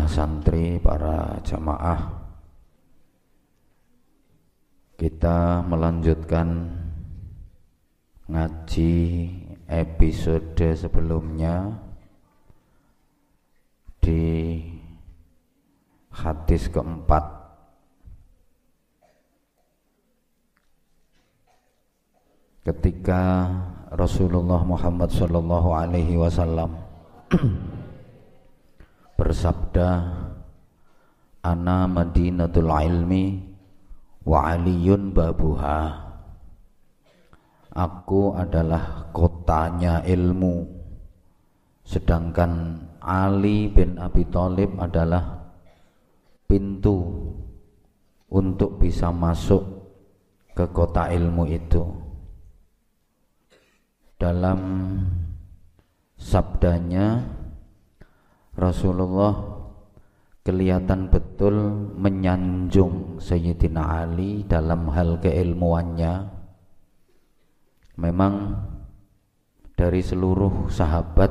santri, para jamaah, kita melanjutkan ngaji episode sebelumnya di hadis keempat. Ketika Rasulullah Muhammad sallallahu alaihi wasallam bersabda, "Ana Madinatul ilmi wa aliyun babuha." Aku adalah kotanya ilmu, sedangkan Ali bin Abi Thalib adalah pintu untuk bisa masuk ke kota ilmu itu. Dalam sabdanya, Rasulullah kelihatan betul menyanjung Sayyidina Ali dalam hal keilmuannya. Memang dari seluruh sahabat,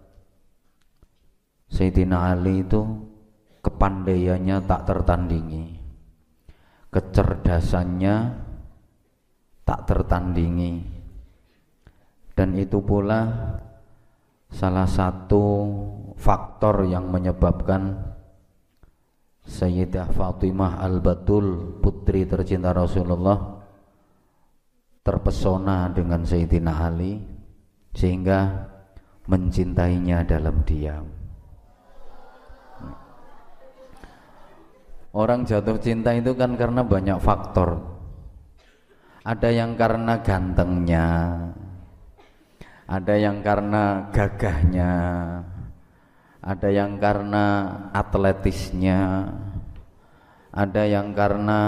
Sayyidina Ali itu kepandaiannya tak tertandingi, kecerdasannya tak tertandingi, dan itu pula salah satu faktor yang menyebabkan Sayyidah Fatimah Al-Batul, putri tercinta Rasulullah, terpesona dengan Sayyidina Ali sehingga mencintainya dalam diam. Orang jatuh cinta itu kan karena banyak faktor. Ada yang karena gantengnya, ada yang karena gagahnya, ada yang karena atletisnya, ada yang karena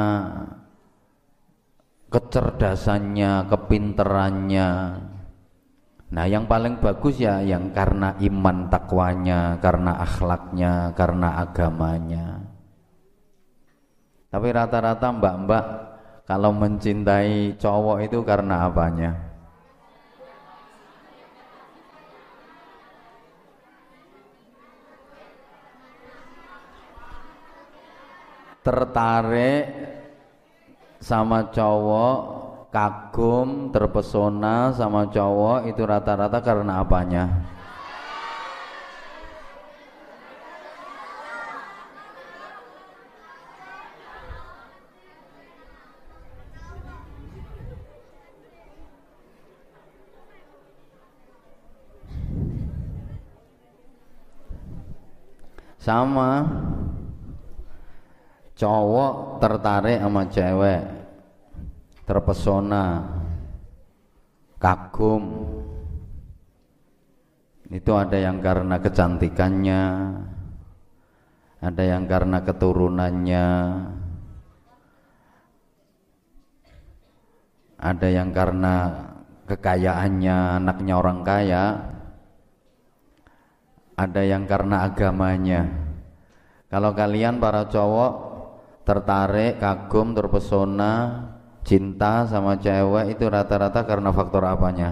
kecerdasannya, kepinterannya. Nah, yang paling bagus ya yang karena iman takwanya, karena akhlaknya, karena agamanya. Tapi rata-rata mbak-mbak kalau mencintai cowok itu karena apanya? Tertarik sama cowok, kagum, terpesona sama cowok itu rata-rata karena apanya? Sama, cowok tertarik sama cewek, terpesona, kagum, itu ada yang karena kecantikannya, ada yang karena keturunannya, ada yang karena kekayaannya, anaknya orang kaya, ada yang karena agamanya. Kalau kalian para cowok tertarik, kagum, terpesona, cinta sama cewek itu rata-rata karena faktor apanya?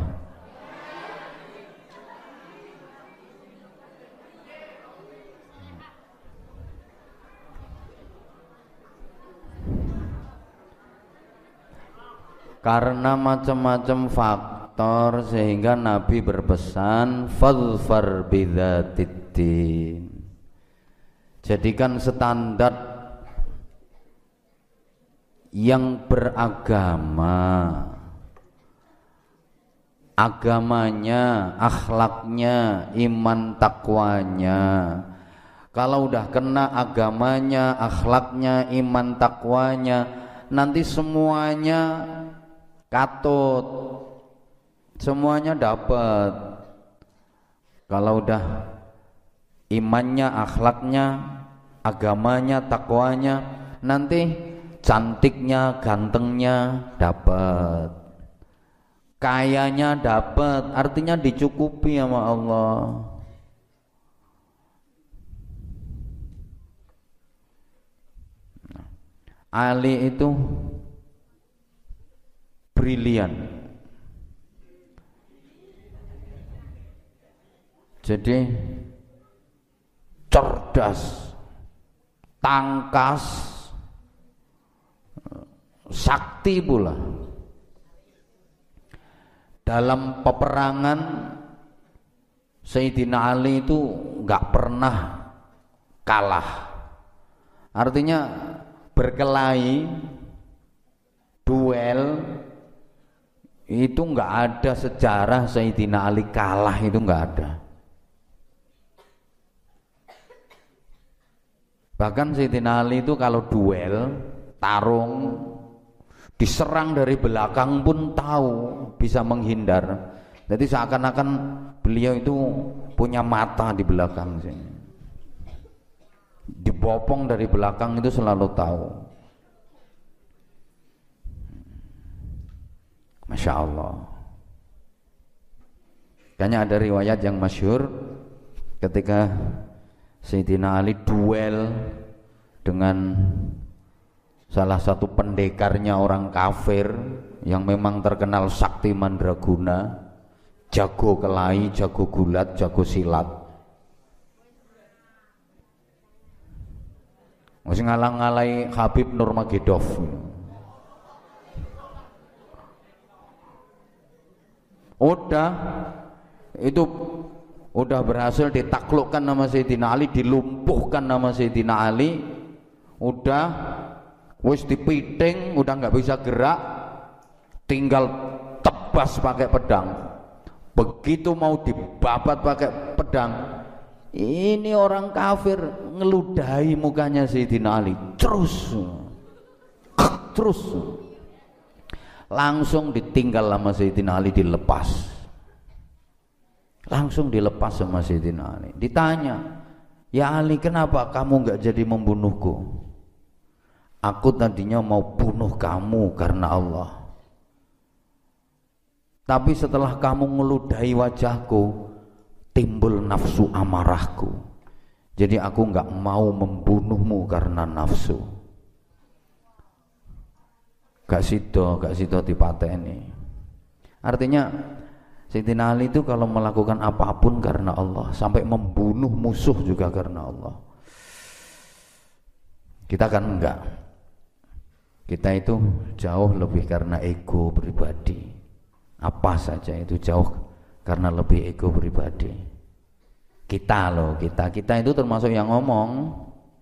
Karena macam-macam faktor sehingga Nabi berpesan fadfar bidzatiddin. Jadikan standar yang beragama, agamanya, akhlaknya, iman takwanya. Kalau udah kena agamanya, akhlaknya, iman takwanya, nanti semuanya katut, semuanya dapat. Kalau udah imannya, akhlaknya, agamanya, takwanya, nanti cantiknya, gantengnya dapat, kayanya dapat, artinya dicukupi sama Allah. Ali itu brilian, jadi cerdas, tangkas, sakti pula. Dalam peperangan Sayyidina Ali itu nggak pernah kalah. Artinya berkelahi, duel itu nggak ada sejarah Sayyidina Ali kalah, itu nggak ada. Bahkan Sayyidina Ali itu kalau duel, tarung, diserang dari belakang pun tahu bisa menghindar. Jadi seakan-akan beliau itu punya mata di belakang sini. Dibopong dari belakang itu selalu tahu. Masya Allah. Kayaknya ada riwayat yang masyhur ketika Sayyidina Ali duel dengan salah satu pendekarnya orang kafir yang memang terkenal sakti mandraguna, jago kelahi, jago gulat, jago silat. Masih ngalang-ngalai Habib Nurmagomedov. Udah berhasil ditaklukkan nama Sayyidina Ali, dilumpuhkan nama Sayyidina Ali, udah wis dipiting, udah nggak bisa gerak, tinggal tebas pakai pedang. Begitu mau dibabat pakai pedang, ini orang kafir ngeludahi mukanya Sayyidina Ali, terus langsung ditinggal sama Sayyidina Ali, langsung dilepas sama Sayyidina Ali. Ditanya, ya Ali, kenapa kamu nggak jadi membunuhku? Aku tadinya mau bunuh kamu karena Allah, tapi setelah kamu ngeludahi wajahku, timbul nafsu amarahku. Jadi aku nggak mau membunuhmu karena nafsu. Gak sido dipateni. Artinya Sayyidina Ali itu kalau melakukan apapun karena Allah, sampai membunuh musuh juga karena Allah. Kita kan enggak. Kita itu jauh lebih karena ego pribadi. Apa saja itu jauh karena lebih ego pribadi. Kita itu termasuk yang ngomong.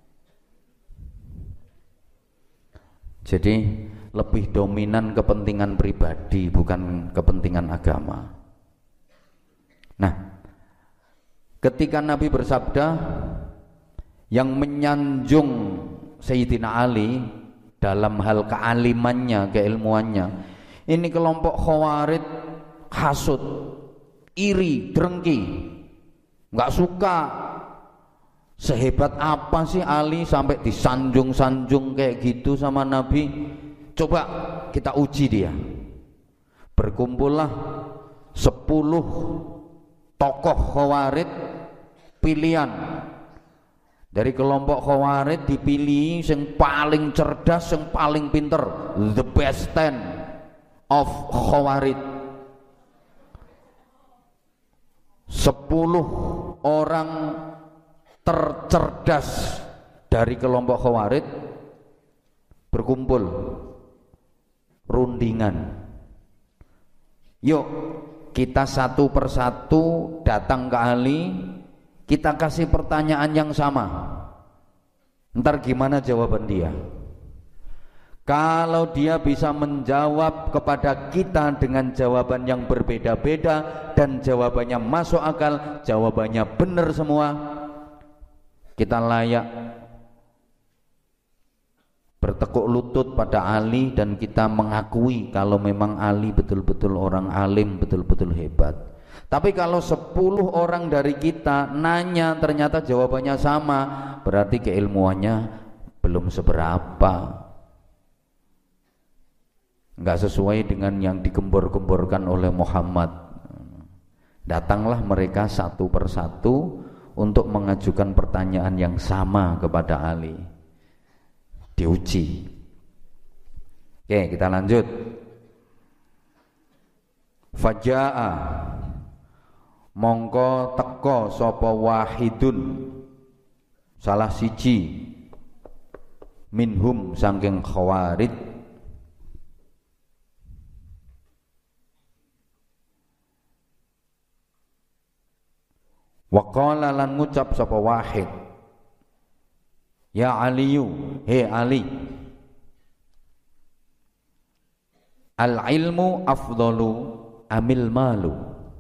Jadi lebih dominan kepentingan pribadi, bukan kepentingan agama. Nah, ketika Nabi bersabda, yang menyanjung Sayyidina Ali dalam hal kealimannya, keilmuannya, ini kelompok Khawarij hasud, iri, drengki, nggak suka. Sehebat apa sih Ali sampai disanjung-sanjung kayak gitu sama Nabi? Coba kita uji dia. Berkumpullah 10 tokoh Khawarij pilihan. Dari kelompok Khawarij dipilih yang paling cerdas, yang paling pinter, the best 10 of Khawarij. 10 orang tercerdas dari kelompok Khawarij berkumpul, rundingan. Yuk kita satu persatu datang ke Ali, kita kasih pertanyaan yang sama. Ntar gimana jawaban dia? Kalau dia bisa menjawab kepada kita dengan jawaban yang berbeda-beda dan jawabannya masuk akal, jawabannya benar semua, kita layak bertekuk lutut pada Ali dan kita mengakui kalau memang Ali betul-betul orang alim, betul-betul hebat. Tapi kalau 10 orang dari kita nanya ternyata jawabannya sama, berarti keilmuannya belum seberapa, nggak sesuai dengan yang digembor-gemborkan oleh Muhammad. Datanglah mereka satu persatu untuk mengajukan pertanyaan yang sama kepada Ali. Diuji. Oke, kita lanjut. Faja'a, mongko teko sapa wahidun, salah siji minhum saking khawarij wa qala lan ngucap sapa wahid ya aliyu he ali al ilmu afdalu amil malu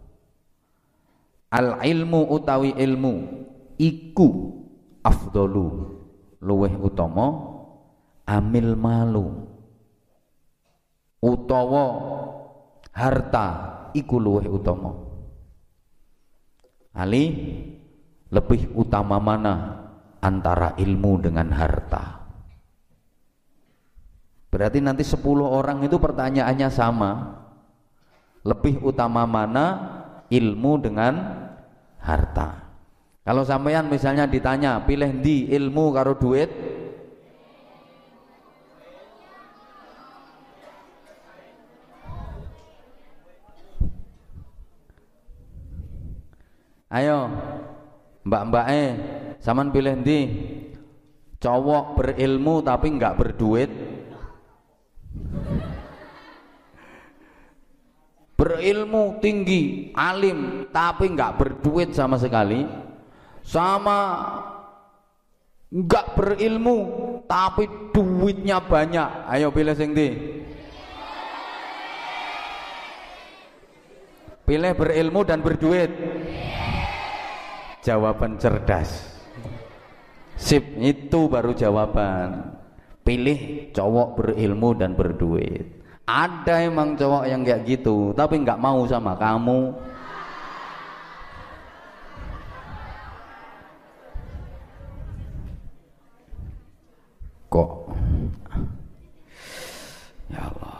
al ilmu utawi ilmu iku afdalu luweh utama amil malu utawa harta iku luweh utama. Ali lebih utama mana antara ilmu dengan harta? Berarti nanti 10 orang itu pertanyaannya sama. Lebih utama mana ilmu dengan harta? Kalau sampean misalnya ditanya pilih di ilmu karo duit, ayo mbak-mbake sampean pilih ndi? Cowok berilmu tapi enggak berduit, berilmu tinggi alim tapi enggak berduit sama sekali, sama enggak berilmu tapi duitnya banyak. Ayo pilih sing ndi? Pilih berilmu dan berduit. Jawaban cerdas. Sip, itu baru jawaban. Pilih cowok berilmu dan berduit. Ada emang cowok yang kayak gitu, tapi nggak mau sama kamu. Kok? Ya Allah.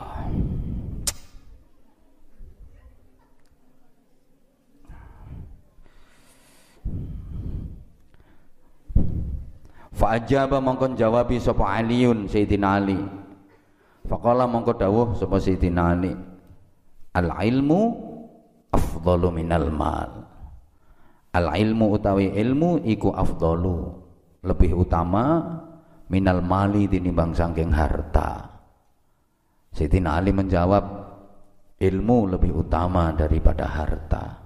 Fa'ajaba mongkon jawabi sapa Aliun Sayyidina Ali. Faqala mongko dawuh sapa Sayyidina Ali, al ilmu afdalu minal mal. Al ilmu utawi ilmu iku afdalu, lebih utama minal mali tinimbang saking harta. Sayyidina Ali menjawab ilmu lebih utama daripada harta.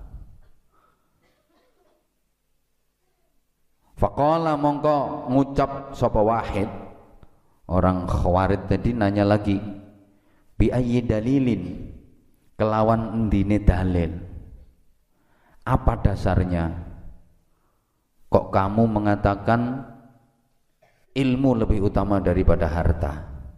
Faqala mongko ngucap sapa wahid, orang khawarij tadi nanya lagi, bi ayyi dalilin, kelawan endine dalil, apa dasarnya kok kamu mengatakan ilmu lebih utama daripada harta?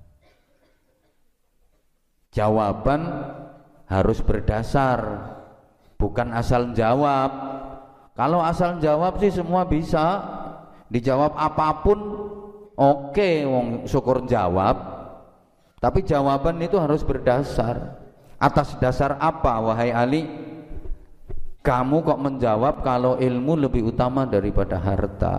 Jawaban harus berdasar, bukan asal jawab. Kalau asal jawab sih semua bisa, dijawab apapun oke, wong syukur jawab. Tapi jawaban itu harus berdasar. Atas dasar apa wahai Ali? Kamu kok menjawab kalau ilmu lebih utama daripada harta?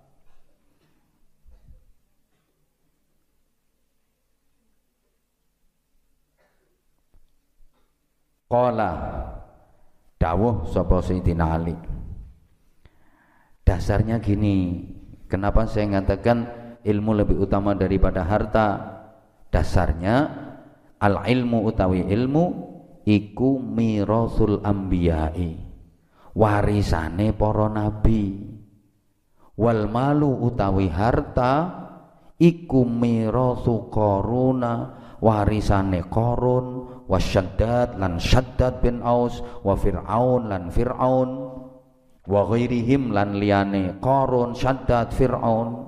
Qala dawuh sapa Sayyidina Ali, dasarnya gini, kenapa saya mengatakan ilmu lebih utama daripada harta? Dasarnya al ilmu utawi ilmu iku mirasul ambiyai, warisane para nabi. Wal malu utawi harta iku mirasu Qaruna, warisane Qarun, wasyaddad lan Syaddad bin Aus, wa Fir'aun lan Fir'aun, wa ghairihim lan liyane Qarun, Syaddad, Fir'aun.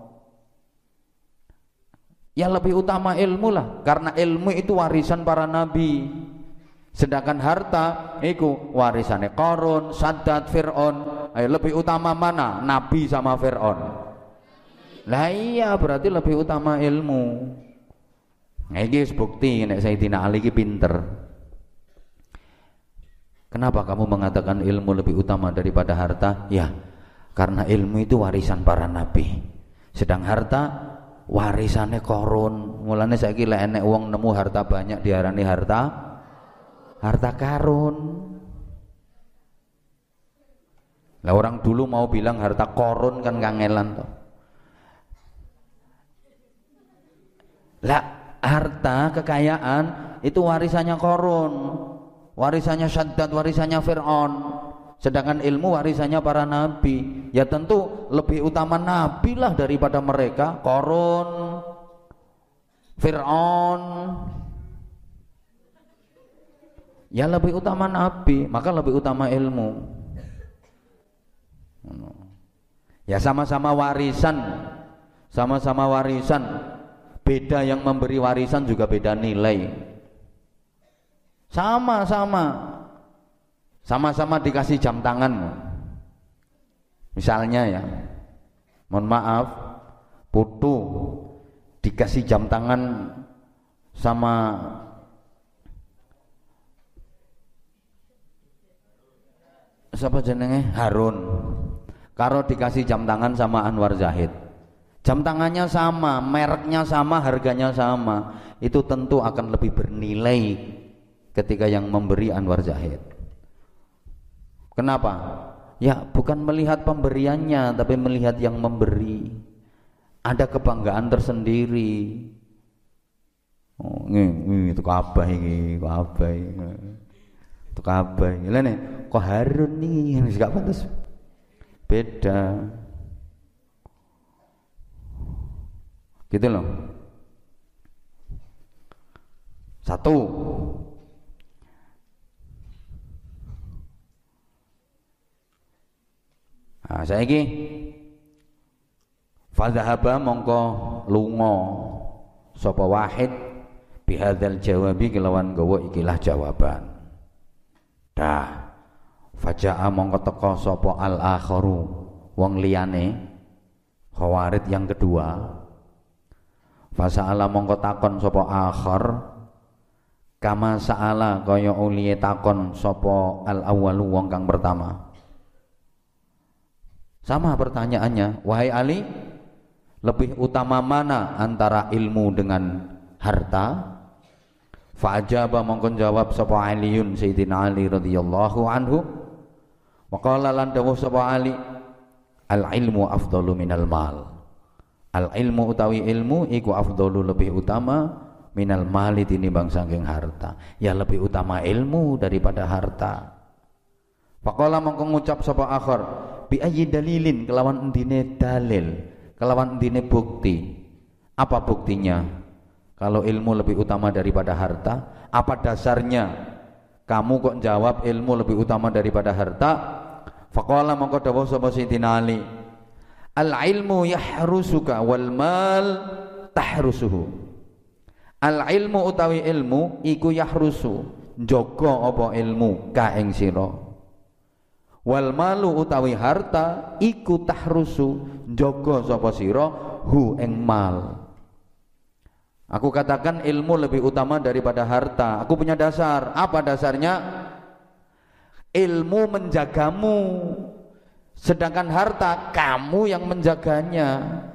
Yang lebih utama ilmu lah, karena ilmu itu warisan para nabi. Sedangkan harta itu warisane Qarun, Syaddad, Fir'aun. Ayo lebih utama mana? Nabi sama Fir'aun. Lah iya, berarti lebih utama ilmu. Nah, ini bukti nek Sayyidina Ali ki pinter. Kenapa kamu mengatakan ilmu lebih utama daripada harta? Ya, karena ilmu itu warisan para nabi. Sedang harta warisane Qarun. Mulane saiki lek enek wong nemu harta banyak diarani harta karun. Lah orang dulu mau bilang harta Qarun kan kangelan toh. Lah, harta, kekayaan itu warisannya Qarun, warisannya Syaddad, warisannya Fir'aun. Sedangkan ilmu warisannya para nabi. Ya tentu lebih utama nabi lah daripada mereka. Qarun, Fir'aun, ya lebih utama nabi, maka lebih utama ilmu. Ya sama-sama warisan, sama-sama warisan. Beda yang memberi warisan juga beda nilai. Sama-sama dikasih jam tangan. Misalnya ya, mohon maaf, putu dikasih jam tangan sama siapa jenenge? Harun. Karo dikasih jam tangan sama Anwar Zahid. Jam tangannya sama, mereknya sama, harganya sama. Itu tentu akan lebih bernilai ketika yang memberi Anwar Zahid. Kenapa? Ya bukan melihat pemberiannya, tapi melihat yang memberi. Ada kebanggaan tersendiri. Oh, itu kabah ini, kabah ini. Itu kabah ini. Lah nih, kok Harun nih, gak pantas. Beda. Gitu loh. Satu. Nah, saiki fadhahaba mongko lunga sapa wahid bihadzal jawabi kelawan gawa ikilah jawaban. Dah faja'a mongko teka sapa al-akharu wong liyane khawarid yang kedua. Fasa'ala mongko takon sapa akhar kama sa'ala kaya uliye takon sapa al-awwalu wong kang pertama. Sama pertanyaannya, wahai Ali, lebih utama mana antara ilmu dengan harta? Fa'ajaba mongkon jawab sapa Aliun Sayyidina Ali radhiyallahu anhu. Wa qala lan dawuh sapa Ali, al-ilmu afdalu minal mal. Al-ilmu utawi ilmu iku afdalu lebih utama minal mali tinimbang saking harta. Ya lebih utama ilmu daripada harta. Faqala mongko ngucap sapa akhar bi ayyi dalilin kelawan endine dalil, kelawan endine bukti. Apa buktinya? Kalau ilmu lebih utama daripada harta, apa dasarnya kamu kok jawab ilmu lebih utama daripada harta? Faqala mongko dawuh sapa Sayyidina Ali, al ilmu yahrusuka wal mal tahrusuhu. Al ilmu utawi ilmu iku yahrusu, njaga apa ilmu ka ing sira. Wal malu utawi harta iku tahrusu, njaga sapa sira hu ing mal. Aku katakan ilmu lebih utama daripada harta. Aku punya dasar. Apa dasarnya? Ilmu menjagamu, sedangkan harta kamu yang menjaganya.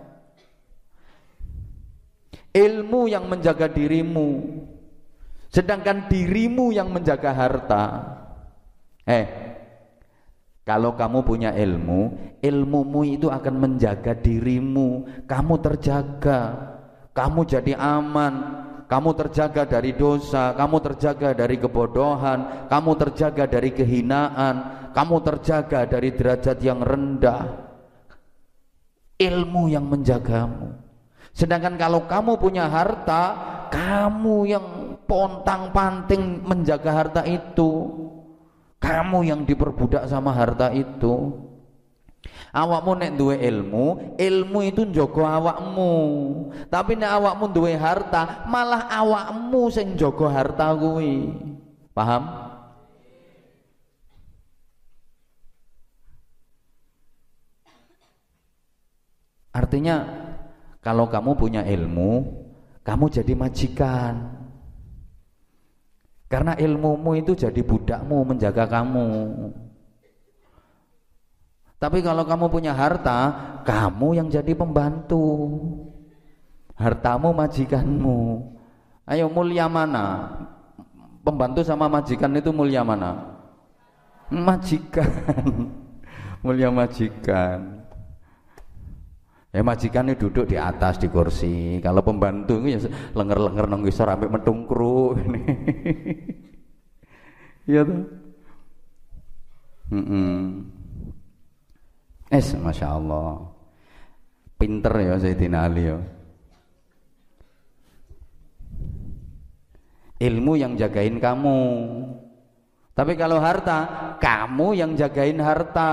Ilmu yang menjaga dirimu, sedangkan dirimu yang menjaga harta. Kalau kamu punya ilmu, ilmumu itu akan menjaga dirimu. Kamu terjaga, kamu jadi aman, kamu terjaga dari dosa, kamu terjaga dari kebodohan, kamu terjaga dari kehinaan, kamu terjaga dari derajat yang rendah. Ilmu yang menjagamu. Sedangkan kalau kamu punya harta, kamu yang pontang-panting menjaga harta itu. Kamu yang diperbudak sama harta itu. Awakmu nek duwe ilmu, ilmu itu njaga awakmu. Tapi nek awakmu duwe harta, malah awakmu sing njaga harta kuwi. Paham? Artinya kalau kamu punya ilmu, kamu jadi majikan. Karena ilmumu itu jadi budakmu, menjaga kamu. Tapi kalau kamu punya harta, kamu yang jadi pembantu. Hartamu majikanmu. Ayo, mulia mana? Pembantu sama majikan itu mulia mana? Majikan. Mulia majikan. Ya majikan itu duduk di atas di kursi. Kalau pembantu itu ya lenger-lenger nang ngisor ambek metungkru. Iya tuh. Masya Allah. Pinter ya Sayyidina Ali ya. Ilmu yang jagain kamu. Tapi kalau harta, kamu yang jagain harta.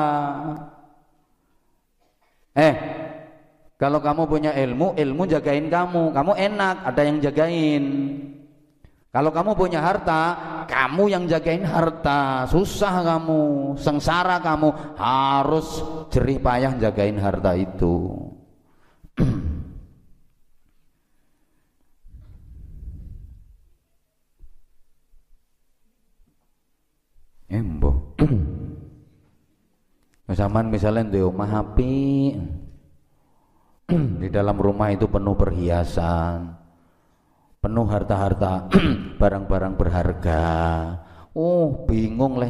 Kalau kamu punya ilmu, ilmu jagain kamu. Kamu enak, ada yang jagain. Kalau kamu punya harta, kamu yang jagain harta. Susah kamu, sengsara kamu, harus jerih payah jagain harta itu. Embo. Zaman misalnya di rumah api, di dalam rumah itu penuh perhiasan, penuh harta-harta, barang-barang berharga. Bingung leh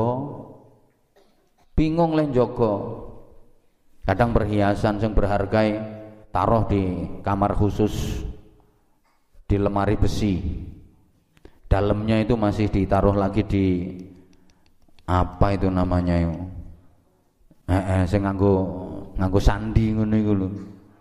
Joko. Kadang perhiasan yang berharga taruh di kamar khusus, di lemari besi. Dalamnya itu masih ditaruh lagi di apa itu namanya itu? Saya nganggo sandi ngono iku lho.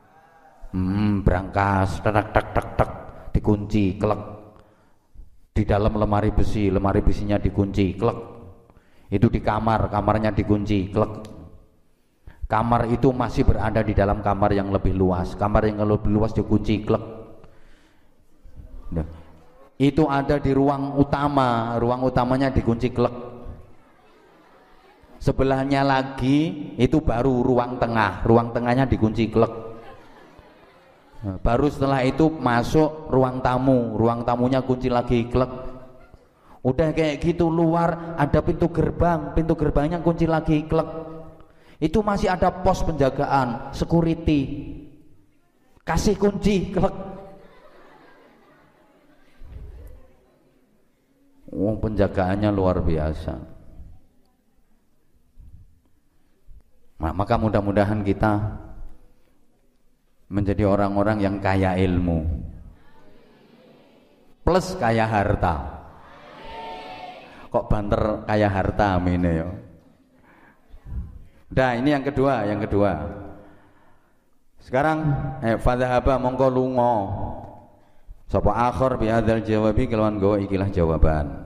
Brankas tek dikunci klek. Di dalam lemari besinya dikunci klek. Itu di kamarnya dikunci klek. Kamar itu masih berada di dalam kamar yang lebih luas. Kamar yang lebih luas dikunci klek. Itu ada di ruang utamanya dikunci klek. Sebelahnya lagi itu baru ruang tengahnya dikunci klek. Baru setelah itu masuk ruang tamunya kunci lagi klek. Udah kayak gitu, luar ada pintu gerbangnya kunci lagi klek. Itu masih ada pos penjagaan, security, kasih kunci klek. Penjagaannya luar biasa. Maka mudah-mudahan kita menjadi orang-orang yang kaya ilmu plus kaya harta. Kok banter kaya harta, amin ya. Nah ini yang kedua. Sekarang fadhahaba mongko lunga sapa akhir bi hadzal jawabi kelawan go ikilah jawaban.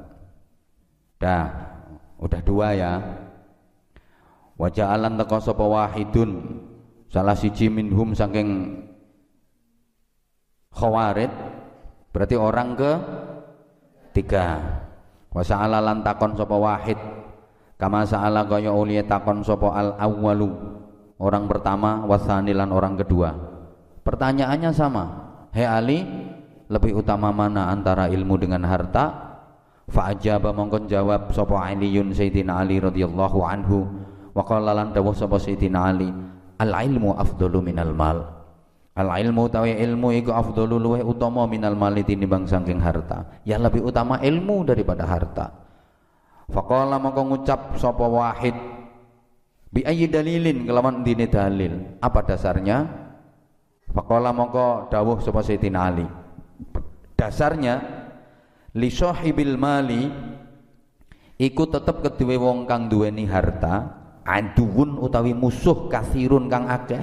Udah dua ya. Wa ja'alan teka sapa wahidun salah siji minhum saking khawarid, berarti orang ke tiga. Wa sa'ala lan takon sapa wahid kama sa'ala kaya uliya takon sapa al awwalu, orang pertama, wasani lan orang kedua. Pertanyaannya sama. Hei Ali, lebih utama mana antara ilmu dengan harta? Fa ajaba mongkon jawab sapa Aliyun Sayyidina Ali radhiyallahu anhu. Wa qala lan dawuh sapa Sayyidina Ali, al ilmu afdalu minal mal. Al ilmu tawi ilmu iku afdalu luweh utama minal mal tinimbang saking harta. Ya lebih utama ilmu daripada harta. Faqala mongko ngucap sapa wahid, bi ayyi dalilin kelawan dine dalil. Apa dasarnya? Faqala mongko dawuh sapa Sayyidina Ali. Dasarnya li sahibil mali iku tetep keduwe wong kang duweni harta, aduun utawi musuh kathirun kang akeh.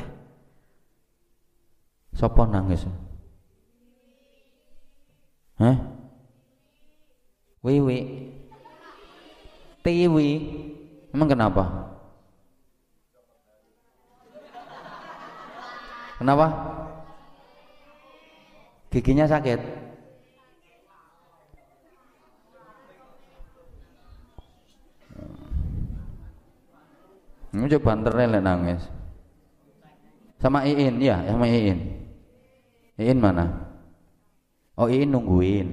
Sapa nangis? Wiwi. Tiwi. Emang kenapa? Kenapa? Giginya sakit. Ini coba banternya nangis. Sama Iin, ya, sama Iin. Iin mana? Oh, Iin nungguin.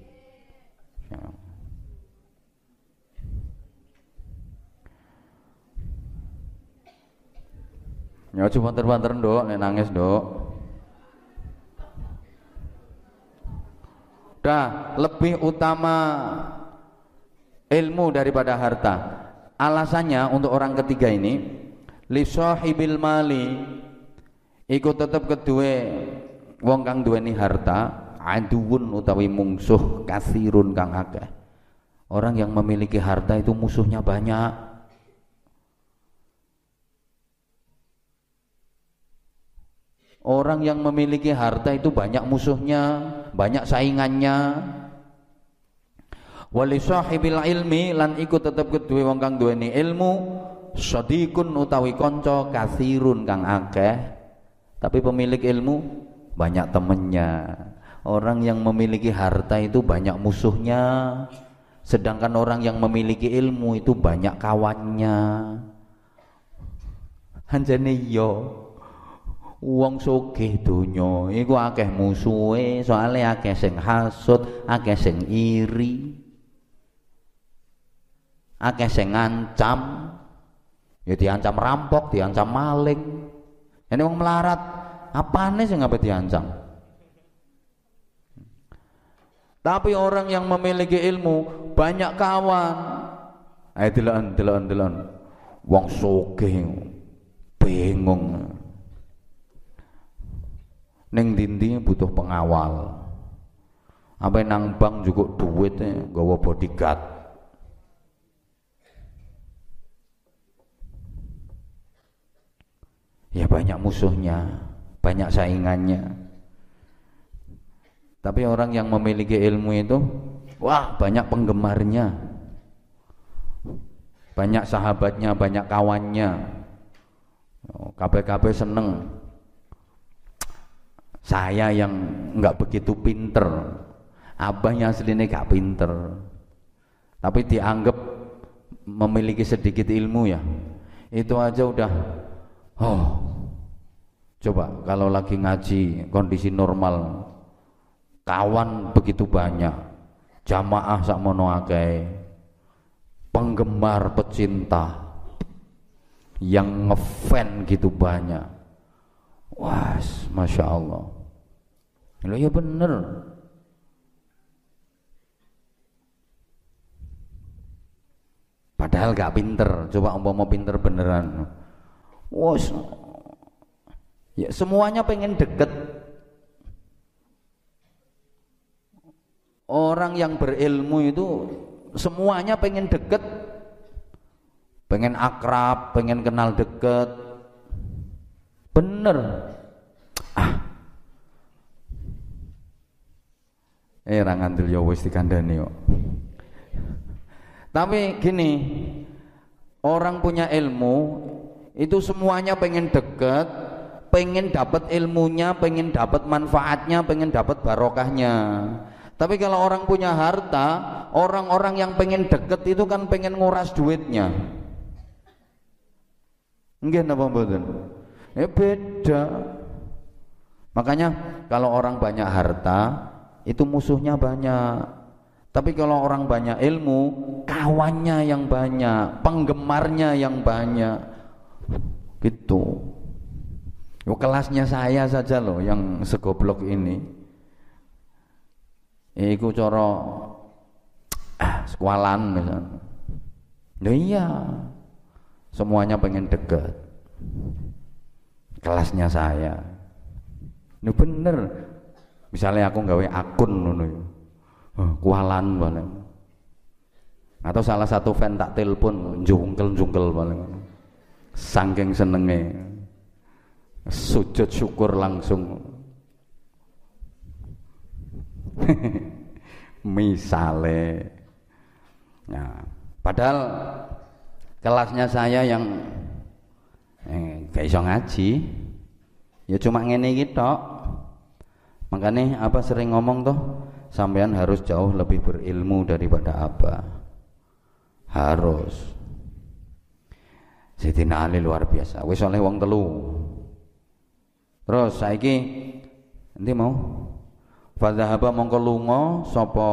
Ya coba banter-banter ndok, nek nangis ndok. Lebih utama ilmu daripada harta. Alasannya untuk orang ketiga ini, li sahibil mali iku tetep kedue wong kang duweni harta aduun utawi mungsuh kasirun kang akeh. Orang yang memiliki harta itu musuhnya banyak. Orang yang memiliki harta itu banyak musuhnya, banyak saingannya. Wali sahibil ilmi lan iku tetep kedue wong kang duweni ilmu sadiqun utawi kanca kasirun kang akeh. Tapi pemilik ilmu banyak temennya. Orang yang memiliki harta itu banyak musuhnya, sedangkan orang yang memiliki ilmu itu banyak kawannya. Anjane yo wong sugih donya iku akeh musuhe, soalé akeh sing hasud, akeh sing iri, akeh sing ngancam, ya diancam rampok, diancam maling. Ini wong melarat, apane sing ngapain diancam? Tapi orang yang memiliki ilmu banyak kawan. Ayo delok-delok wong sugih bingung. Ning dindi butuh pengawal. Apa nang bank juga duitnya gawa bodyguard. Ya banyak musuhnya, banyak saingannya. Tapi orang yang memiliki ilmu itu, wah banyak penggemarnya, banyak sahabatnya, banyak kawannya. KPKP seneng. Saya yang nggak begitu pinter, abahnya aslinya gak pinter, tapi dianggap memiliki sedikit ilmu ya, itu aja udah. Oh, coba kalau lagi ngaji kondisi normal, kawan begitu banyak, jamaah sakmono akeh, penggemar pecinta yang ngefan gitu banyak. Wah, masya Allah. Lo ya bener. Padahal gak pinter. Coba umpama pinter beneran. Wah, ya semuanya pengen deket. Orang yang berilmu itu semuanya pengen deket, pengen akrab, pengen kenal deket. Bener. Ra ngandel ya wis dikandani kok. Tapi gini, orang punya ilmu itu semuanya pengen deket, pengen dapat ilmunya, pengen dapat manfaatnya, pengen dapat barokahnya. Tapi kalau orang punya harta, orang-orang yang pengen deket itu kan pengen nguras duitnya. Nggih napa mboten? Beda. Makanya kalau orang banyak harta itu musuhnya banyak. Tapi kalau orang banyak ilmu, kawannya yang banyak, penggemarnya yang banyak. Gitu. Yo kelasnya saya saja loh yang segoblok ini. Iku cara sekolahan misalnya. Nah iya. Semuanya pengen deket. Kelasnya saya. Ini bener. Misalnya aku nggawe akun ngono ya. Kualan paling. Atau salah satu fan tak telepon jungkel paling. Saking senenge. Sujud syukur langsung. Misale. Nah, padahal kelasnya saya yang gak iso ngaji, ya cuma ngene iki tok. Makanya apa sering ngomong tuh, sampean harus jauh lebih berilmu daripada apa. Harus. Sayyidina Ali luar biasa. Wis oleh wong telu. Terus saiki endi mau? Fadzahaba mongko lunga sapa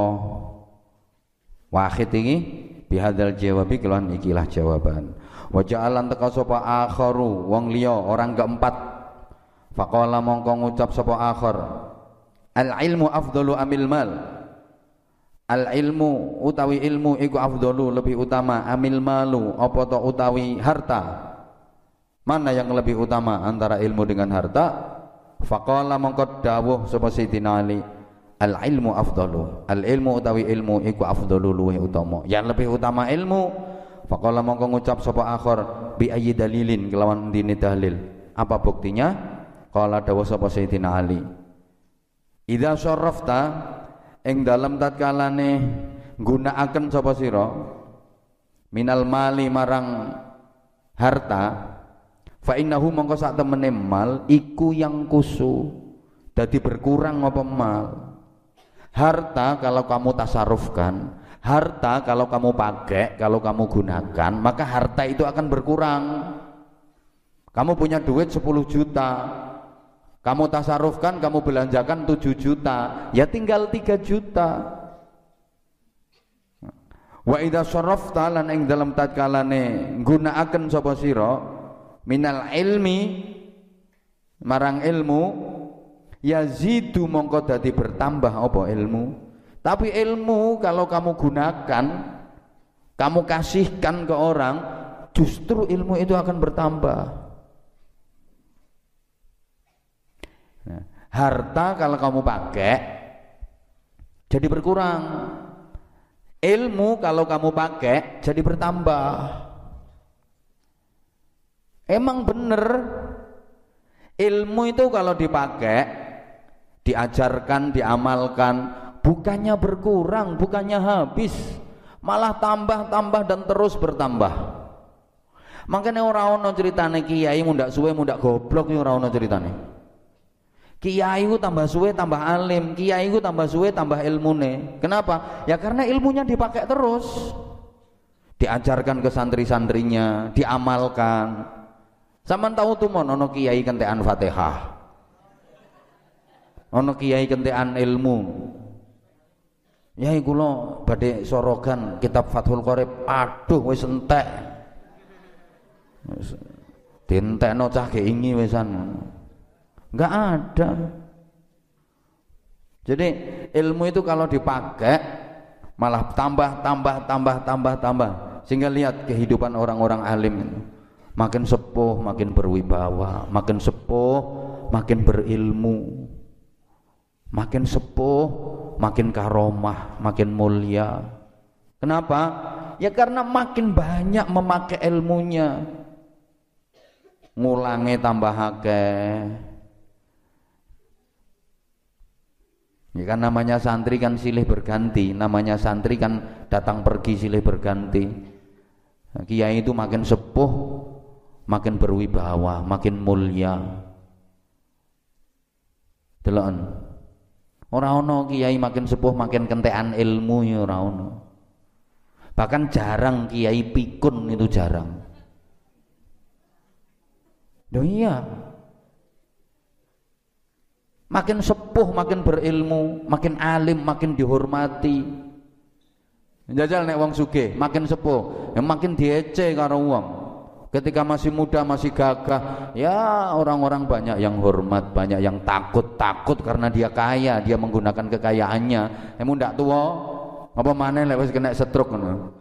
Wahid iki bihadzal jawabi kelawan ikilah jawaban. Wa ja'alan teka sapa akharu wong liya orang keempat. Faqala mongko ngucap sapa akhar, al ilmu afdalu amil mal. Al ilmu utawi ilmu iku afdalu lebih utama amil malu apa to utawi harta. Mana yang lebih utama antara ilmu dengan harta? Faqala mongko dawuh sapa Sayyidina Ali, al ilmu afdalu. Al ilmu utawi ilmu iku afdalu luwih utama. Yang lebih utama ilmu. Faqala mongko ngucap sapa akhir bi ayyi dalilin kelawan dini dalil. Apa buktinya? Qala dawuh sapa Sayyidina Ali. Idza syarrafta ing dalem tatkalane nggunakaken sapa sira minal mali marang harta, fa innahu mongko sak temene mal iku yang kusu dadi berkurang apa mal. Harta kalau kamu tasarufkan, harta kalau kamu pakai, kalau kamu gunakan, maka harta itu akan berkurang. Kamu punya duit 10 juta, kamu tasarufkan, kamu belanjakan 7 juta, ya tinggal 3 juta. Wa idza syarafta lan ing dalam tatkalane nggunakaken sapa sira minal ilmi marang ilmu, yazidu mongko dadi bertambah apa ilmu. Tapi ilmu kalau kamu gunakan, kamu kasihkan ke orang, justru ilmu itu akan bertambah. Nah, harta kalau kamu pakai jadi berkurang, ilmu kalau kamu pakai jadi bertambah. Emang bener, ilmu itu kalau dipakai, diajarkan, diamalkan, bukannya berkurang, bukannya habis, malah tambah dan terus bertambah. Makanya ora ono ceritane kiai mundak suwe mundak goblok, ora ono ceritane. Kiai ku tambah suwe tambah alim, kiai ku tambah suwe tambah ilmune. Kenapa? Ya karena ilmunya dipakai terus, diajarkan ke santri-santrinya, diamalkan. Sampeyan tahu tuh mon ono kiai kentekan Fatihah, ono kiai kentekan ilmu. Ya iku lho badhe sorogan kitab Fathul Qorib, aduh wis entek. Dientekno cah keingi wisan. Enggak ada. Jadi ilmu itu kalau dipakai malah tambah. Sehingga lihat kehidupan orang-orang alim itu. Makin sepuh makin berwibawa, makin sepuh makin berilmu, makin sepuh makin karomah, makin mulia. Kenapa? Ya karena makin banyak memakai ilmunya. Ngulangi tambah akeh. Ya kan namanya santri kan silih berganti, namanya santri kan datang pergi silih berganti. Nah, kiai itu makin sepuh, makin berwibawa, makin mulia. Delok. Ora ono kiai makin sepuh makin kentekan ilmu ya ora ono. Bahkan jarang kiai pikun, itu jarang. Loh iya. Makin sepuh makin berilmu, makin alim makin dihormati. Jajal nek wong sugih makin sepuh ya makin diece karo wong. Ketika masih muda masih gagah, ya orang-orang banyak yang hormat, banyak yang takut karena dia kaya, dia menggunakan kekayaannya. Emu ndak tua apa maneh lek wis kena stroke ngono.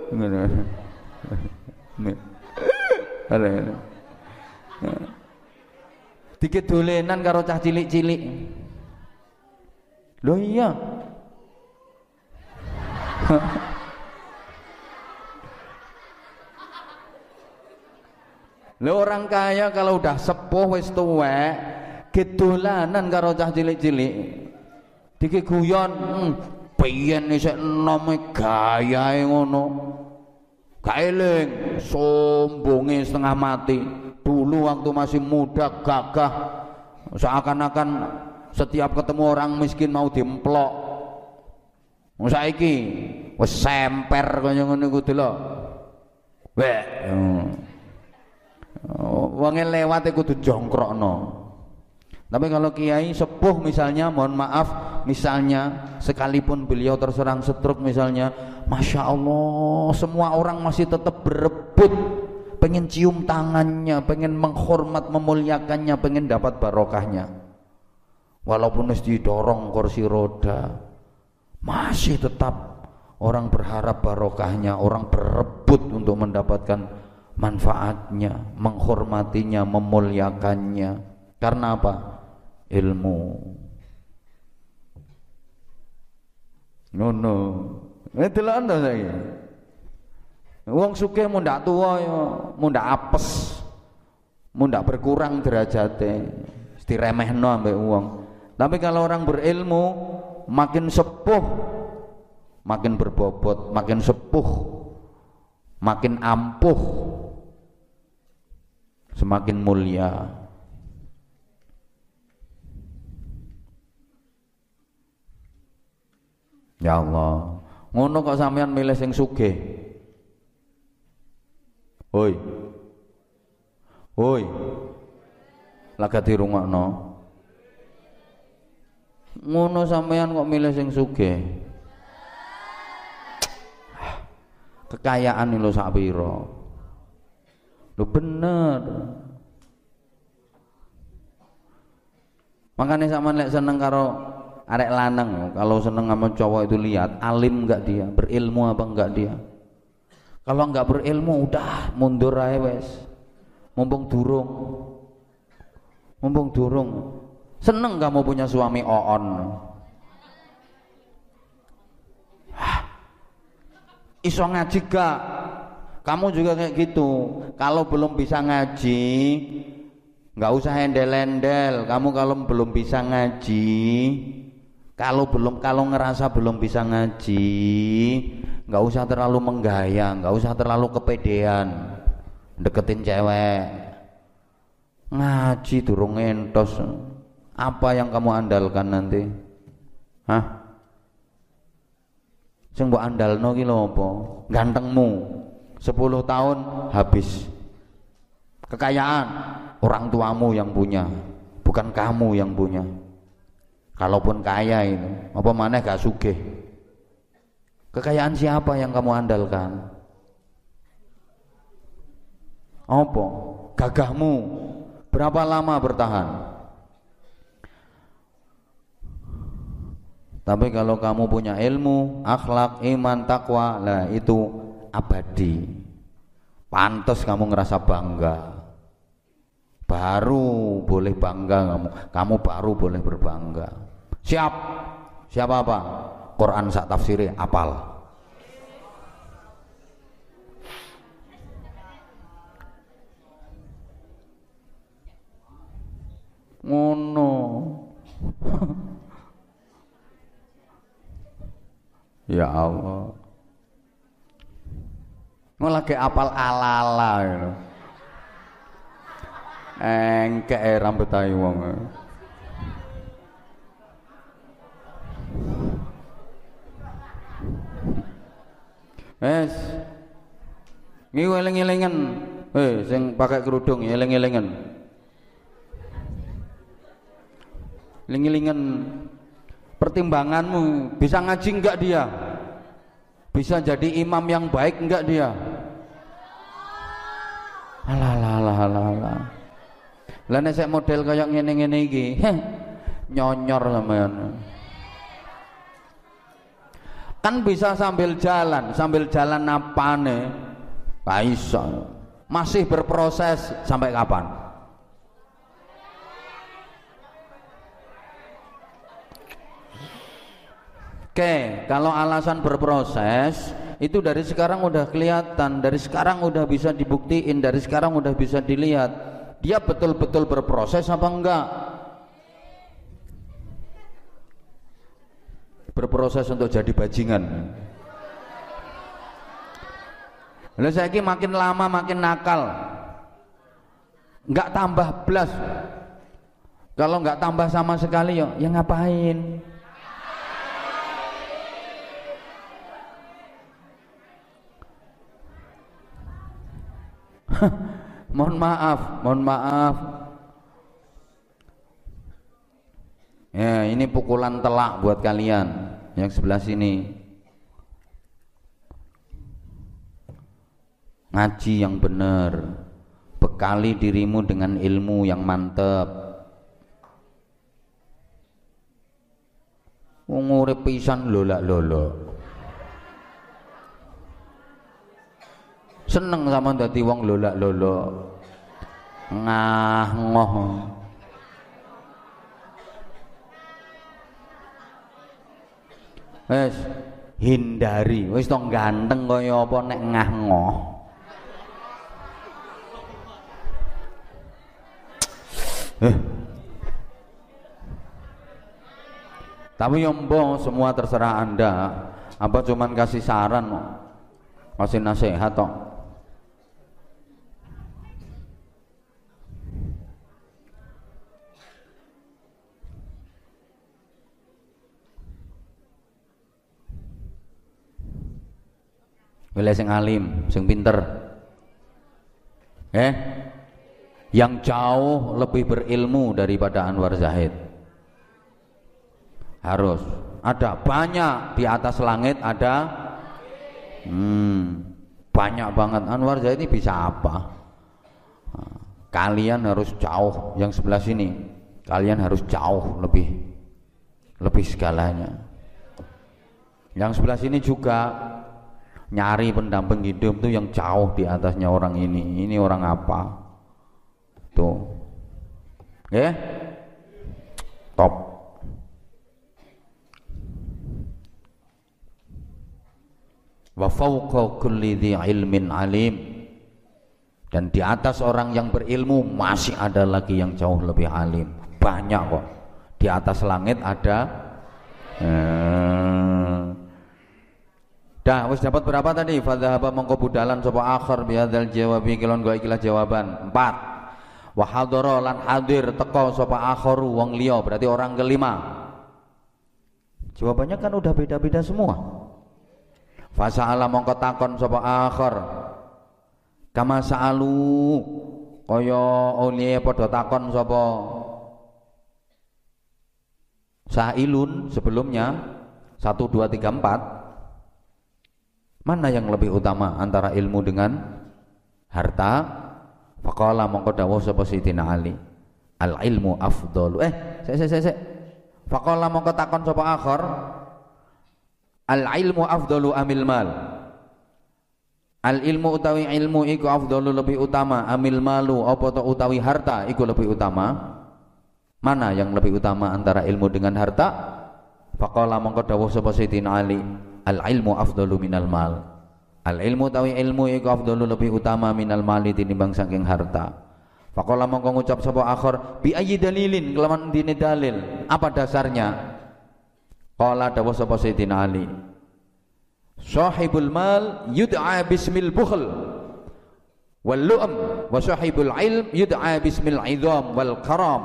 Ngono. Dikit dolenan karo cah cilik-cilik. Loh iya. Loh orang kaya kalau udah sepuh wis tuwek, gedolanan karo cah cilik-cilik. Dikit guyon, piyen isih enome gayae ngono. Gak eling, sombonge setengah mati. Dulu waktu masih muda gagah, seakan-akan setiap ketemu orang miskin mau diemplok. Saiki wis semper kaya ngono iku delok. Wek. Wonge lewat iku kudu jongkrokno. Tapi kalau kiai sepuh misalnya, mohon maaf, misalnya sekalipun beliau terserang stroke misalnya, Masya Allah, semua orang masih tetap berebut, pengen cium tangannya, pengen menghormat, memuliakannya, pengen dapat barokahnya. Walaupun mesti didorong kursi roda, masih tetap orang berharap barokahnya, orang berebut untuk mendapatkan manfaatnya, menghormatinya, memuliakannya. Karena apa? Ilmu. Ngono. Delok anda saya. Wong sugih mun ndak tuwa ya, mun ndak apes, mun ndak berkurang derajate, diremehno ambek wong. Tapi kalau orang berilmu, makin sepuh, makin berbobot, makin sepuh, makin ampuh, semakin mulia. Ya Allah, ngono kok sampean milih sing sugih? Hoi, hoi, lagak dirungokno. Ngono sampean kok milih sing sugih? Kekayaan lho sak pira? Lho bener. Makanya sampean lek seneng karo arek lanang, kalau seneng sama cowok itu lihat alim enggak dia, berilmu apa enggak dia. Kalau enggak berilmu udah mundur ae wes. Mumpung durung. Seneng kamu punya suami oon. Iso ngaji gak? Kamu juga kayak gitu. Kalau belum bisa ngaji, nggak usah endel-endel. Kamu kalau belum bisa ngaji, kalau ngerasa belum bisa ngaji, nggak usah terlalu menggaya, nggak usah terlalu kepedean deketin cewek. Ngaji durung entos. Apa yang kamu andalkan nanti? Hah? Sing mbok andalno ki lho apa? Gantengmu. 10 tahun habis. Kekayaan orang tuamu yang punya, bukan kamu yang punya. Kalaupun kaya itu, apa maneh gak sugih. Kekayaan siapa yang kamu andalkan? Apa? Gagahmu. Berapa lama bertahan? Tapi kalau kamu punya ilmu, akhlak, iman, takwa, lah itu abadi. Pantas kamu ngerasa bangga. Baru boleh bangga kamu baru boleh berbangga. Siap apa? Quran sak tafsire apal. Ngono. Ya Allah. Ngelake apal ala-ala gitu. Engkek rambut ayu wong. Wes. Ngi eling-elingan. Sing pakai kerudung eling-elingan. Eling-elingan. Pertimbanganmu bisa ngaji enggak dia? Bisa jadi imam yang baik enggak dia? Alah. Lah nek sek model kaya ngene-ngene iki, nyonyor sampean. Kan bisa sambil jalan apane? Gak iso. Masih berproses sampai kapan? Oke, kalau alasan berproses itu dari sekarang udah kelihatan, dari sekarang udah bisa dibuktiin, dari sekarang udah bisa dilihat dia betul-betul berproses apa enggak. Berproses untuk jadi bajingan. Lalu saiki makin lama makin nakal, enggak tambah blas. Kalau enggak tambah sama sekali ya ngapain? Mohon maaf. Ya, ini pukulan telak buat kalian yang sebelah sini. Ngaji yang benar, bekali dirimu dengan ilmu yang mantep. Urip pisan lolak-lolok. Seneng sama dadi wong lolak-lolo. Ngah ngoh. Wes hindari, wis tong ganteng kaya apa nek ngah ngoh. Tapi yombo semua terserah Anda. Apa cuman kasih saran, kasih nasihat toh. Wilih sing alim, sing pinter. Yang jauh lebih berilmu daripada Anwar Zahid. Harus ada banyak di atas langit ada banyak banget. Anwar Zahid ini bisa apa? Kalian harus jauh yang sebelah sini. Kalian harus jauh lebih segalanya. Yang sebelah sini juga nyari pendamping hidup tuh yang jauh di atasnya orang ini. Ini orang apa? Tuh. Top. Wa fawqa kulli dzi ilmin alim. Dan di atas orang yang berilmu masih ada lagi yang jauh lebih alim. Banyak kok. Di atas langit ada Dah, wis dapat berapa tadi? Fadzahaba mongko budalan sapa akhir bihadzal jawabi kilon go ikilah jawaban. 4. Wa hadara lan hadir teka sapa akharu wong liya, berarti orang kelima. Jawabannya kan udah beda-beda semua. Fasa'ala mongko takon sapa akhir. Kama sa'alu kaya uliye padha takon sapa sa'ilun sebelumnya 1 2 3 4. Mana yang lebih utama antara ilmu dengan harta? Faqala mongko dawuh sapa Sayyidina Ali, al ilmu afdalu. Sik. Faqala mongko takon sapa akhir, al ilmu afdalu amil mal. Al ilmu utawi ilmu iku afdalu lebih utama, amil malu apa to utawi harta iku lebih utama. Mana yang lebih utama antara ilmu dengan harta? Faqala mongko dawuh sapa Sayyidina Ali, al ilmu afdalu minal mal. Al ilmu tawi ilmu iku afdalu lebih utama minal mali tinimbang saking harta. Faqala mongko ngucap sapa akhir, bi ayyi dalilin kelawan dine dalil. Apa dasarnya? Qala dawuh sapa Sayyidina Ali, sahibul mal yud'a bismil bukhl wal lu'am wa sahibul ilm yud'a bismil idham wal karam.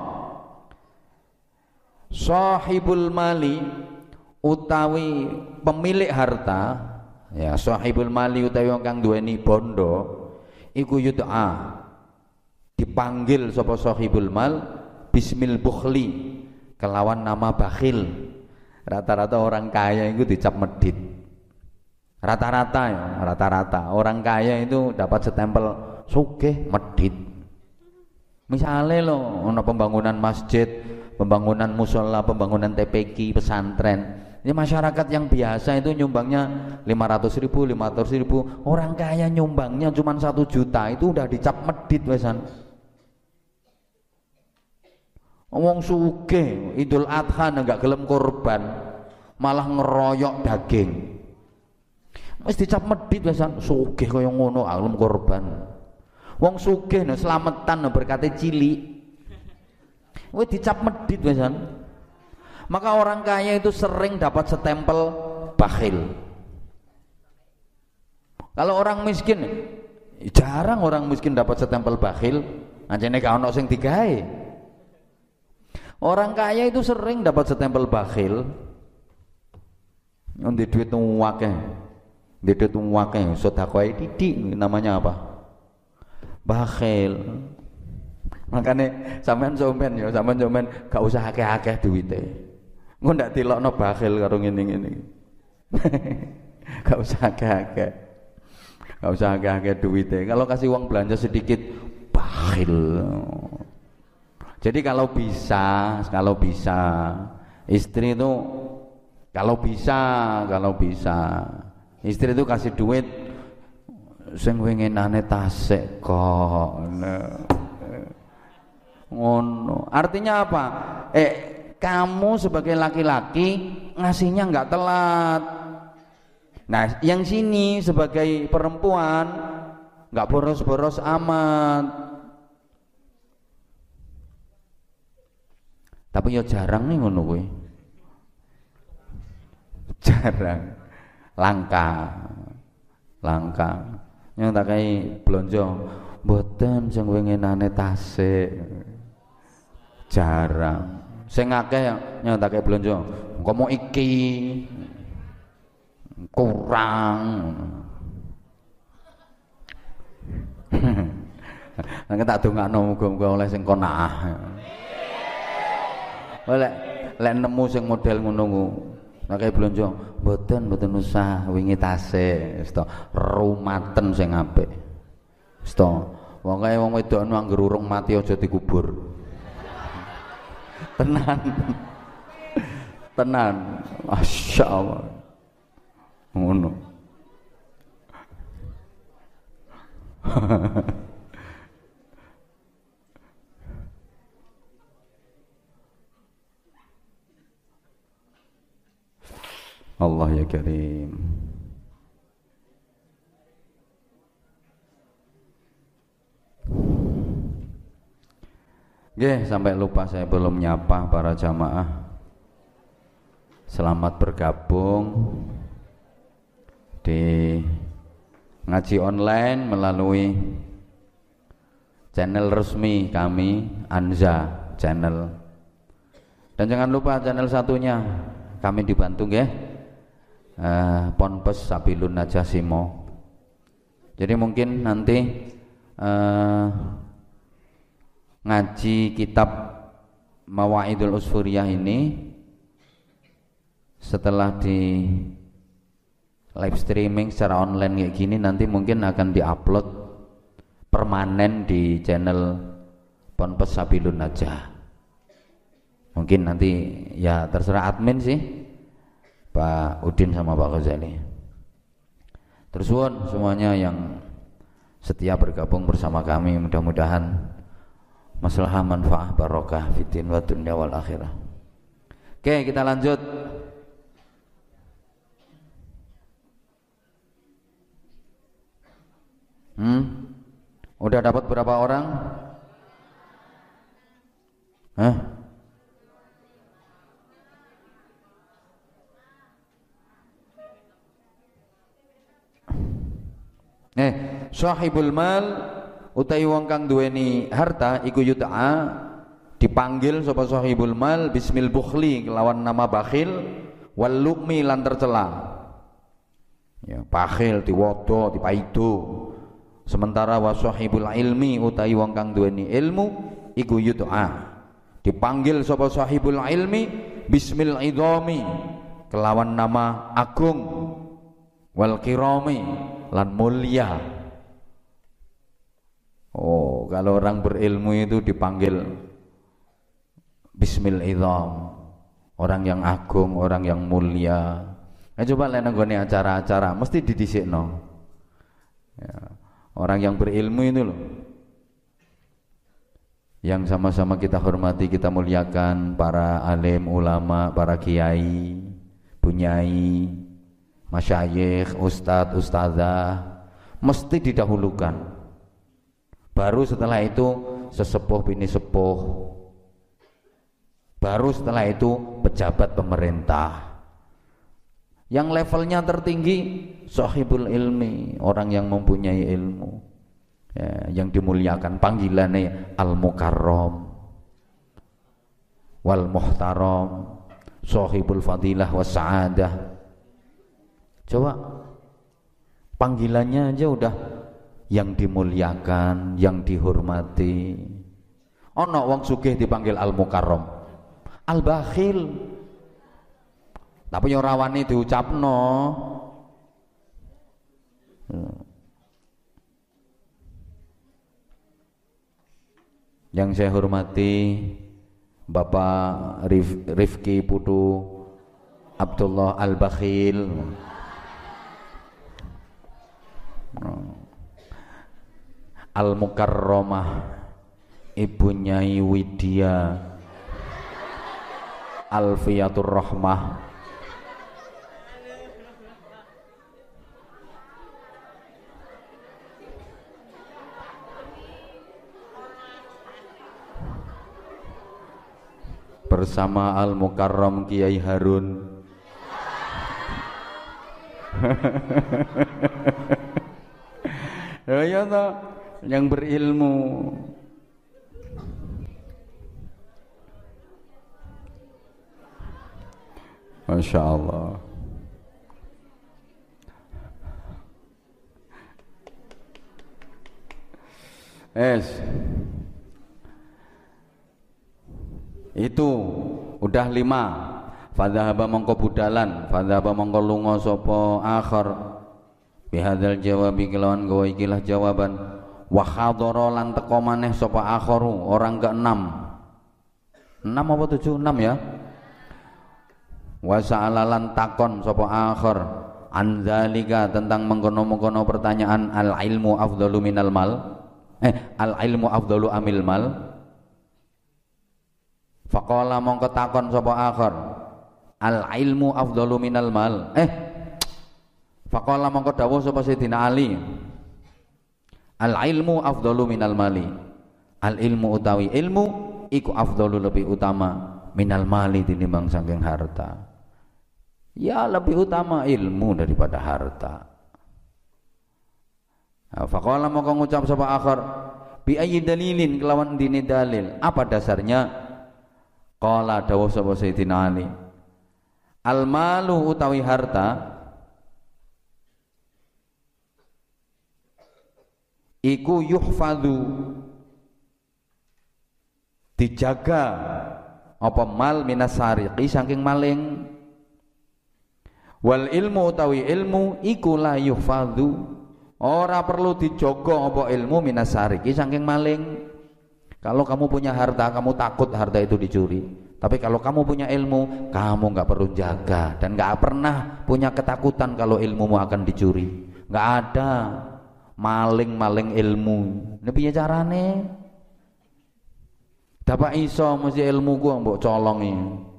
Sahibul mali utawi pemilik harta, ya sahibul mali utawi wong kang duweni bondo iku yud'a dipanggil sapa sahibul mal bismil bukhli kelawan nama bakhil. Rata-rata orang kaya itu dicap medit. Rata-rata orang kaya itu dapat stempel sugih medit. Misalnya lo ono pembangunan masjid, pembangunan musola, pembangunan TPQ, pesantren. Ini masyarakat yang biasa itu nyumbangnya 500.000, 500.000. Orang kaya nyumbangnya cuma 1 juta, itu udah dicap medit wesan. Wong sugih Idul Adha enggak gelem korban, malah ngeroyok daging. Wis dicap medit wesan, sugih kaya ngono gelem korban. Wong sugih nek slametan berkate cilik. Wis dicap medit wesan. Maka orang kaya itu sering dapat stempel bakhil. Kalau orang miskin, jarang orang miskin dapat stempel bakhil. Anjene gak ono sing digawe. Orang kaya itu sering dapat stempel bakhil. Ndek duit akeh. Ndek duit akeh, sedekah titik namanya apa? Bakhil. Makanya sampean gak usah akeh-akeh duwite. Engko ndak dilokno bakhil karo ngene-ngene. Gak usah akeh-akeh. Gak usah akeh-akeh duwite. Kalau kasih uang belanja sedikit bakhil. Jadi kalau bisa istri itu kalau bisa istri itu kasih duit sing winginane tasik kok. Ngono. Artinya apa? Kamu sebagai laki-laki ngasihnya enggak telat. Nah, yang sini sebagai perempuan enggak boros-boros amat. Tapi ya jarang nih ngono kuwi. Jarang. Langka. Yang tak kai blonjo mboten sing winginane tasik. Jarang. Sing akeh yang tak kai blonjo engko mau iki kurang. Nek tak dongakno muga-muga oleh sing qanaah. Lek nemu sing model ngono ku nek kaya blonjo mboten usah wingi tasik wis to rumaten sing apik wis to wong kae wong wedok anggere urung mati aja dikubur tenan masyaallah ngono. Allah ya Karim. Nggih, sampai lupa saya belum nyapa para jamaah. Selamat bergabung di ngaji online melalui channel resmi kami, Anza Channel. Dan jangan lupa channel satunya kami dibantu nggih. Ponpes Sabilun Najah Simo. Jadi mungkin nanti ngaji kitab Mawaidul Usfuriyah ini setelah di live streaming secara online kayak gini nanti mungkin akan diupload permanen di channel Ponpes Sabilun Najah. Mungkin nanti ya terserah admin sih, Pak Udin sama Pak Ghazali. Terus semuanya yang setia bergabung bersama kami, mudah-mudahan maslahah manfaah barokah fiddin wa dunya wal akhirah. Oke, kita lanjut. Udah dapat berapa orang? Sahibul mal utawi wong kang duweni harta iku yud'a dipanggil sapa sahibul mal bismil bukhli kelawan nama bakhil wal luqmi lan tercela. Ya, bakhil diwodo dipaido. Sementara wa sahibul ilmi utawi wong kang duweni ilmu iku yud'a dipanggil sapa sahibul ilmi bismil idhami kelawan nama agung wal kirami lan mulia. Oh, kalau orang berilmu itu dipanggil bismil idham, orang yang agung, orang yang mulia. Nah, coba lihat nenggone acara-acara mesti didhisikno. Ya, orang yang berilmu itu loh, yang sama-sama kita hormati, kita muliakan, para alim ulama, para kiai, bunyai, masyayikh, ustadz, ustadzah mesti didahulukan. Baru setelah itu sesepuh bini sepuh. Baru setelah itu pejabat pemerintah. Yang levelnya tertinggi sahibul ilmi, orang yang mempunyai ilmu. Ya, yang dimuliakan panggilannya al-mukarram wal muhtaram, sahibul fadilah was sa'adah. Coba panggilannya aja udah yang dimuliakan, yang dihormati. Ono wong sugih dipanggil al-mukarram, al-bakhil. Tapi ora wani diucapno. Yang saya hormati Bapak Rifki Putu Abdullah Al-Bakhil. Al-Mukarramah Ibu Nyai Widya Alfiyatur Rahmah bersama Al-Mukarram Kiai Harun. Ya toh, yang berilmu. Masya Allah. Itu udah 5. Fadhahaba mongko budalan, fadhahaba mongko lunga sapa akhir bihadzal jawabi kelawan gawa ikilah jawaban. Wa hadara lan teka maneh sapa akharu orang ke-6. 6 apa 7? 6 ya. Wa sa'alalan takon sapa akhir an zalika tentang mengkono-mengkono pertanyaan al ilmu afdalu minal mal. Al ilmu afdalu amil mal. Faqala mongko takon sapa akhir al ilmu afdalu minal mal. Faqala mongko dawuh sapa Sayyidina Ali al ilmu afdalu minal mali. Al ilmu utawi ilmu iku afdalu lebih utama minal mali tinimbang saking harta. Ya lebih utama ilmu daripada harta. Faqala mongko ngucap sapa akhir bi ayyi dalilin kelawan dini dalil. Apa dasarnya? Qala dawuh sapa Sayyidina Ali al malu utawi harta iku yuhfadhu dijaga apa mal minas sariqi saking maling. Wal ilmu utawi ilmu iku la yuhfadhu ora perlu dijogo apa ilmu minas sariqi saking maling. Kalau kamu punya harta, kamu takut harta itu dicuri. Tapi kalau kamu punya ilmu, kamu nggak perlu jaga dan nggak pernah punya ketakutan kalau ilmumu akan dicuri. Nggak ada maling-maling ilmu. Ini piye carane? Dapat iso mesti ilmu gua mbok colongi.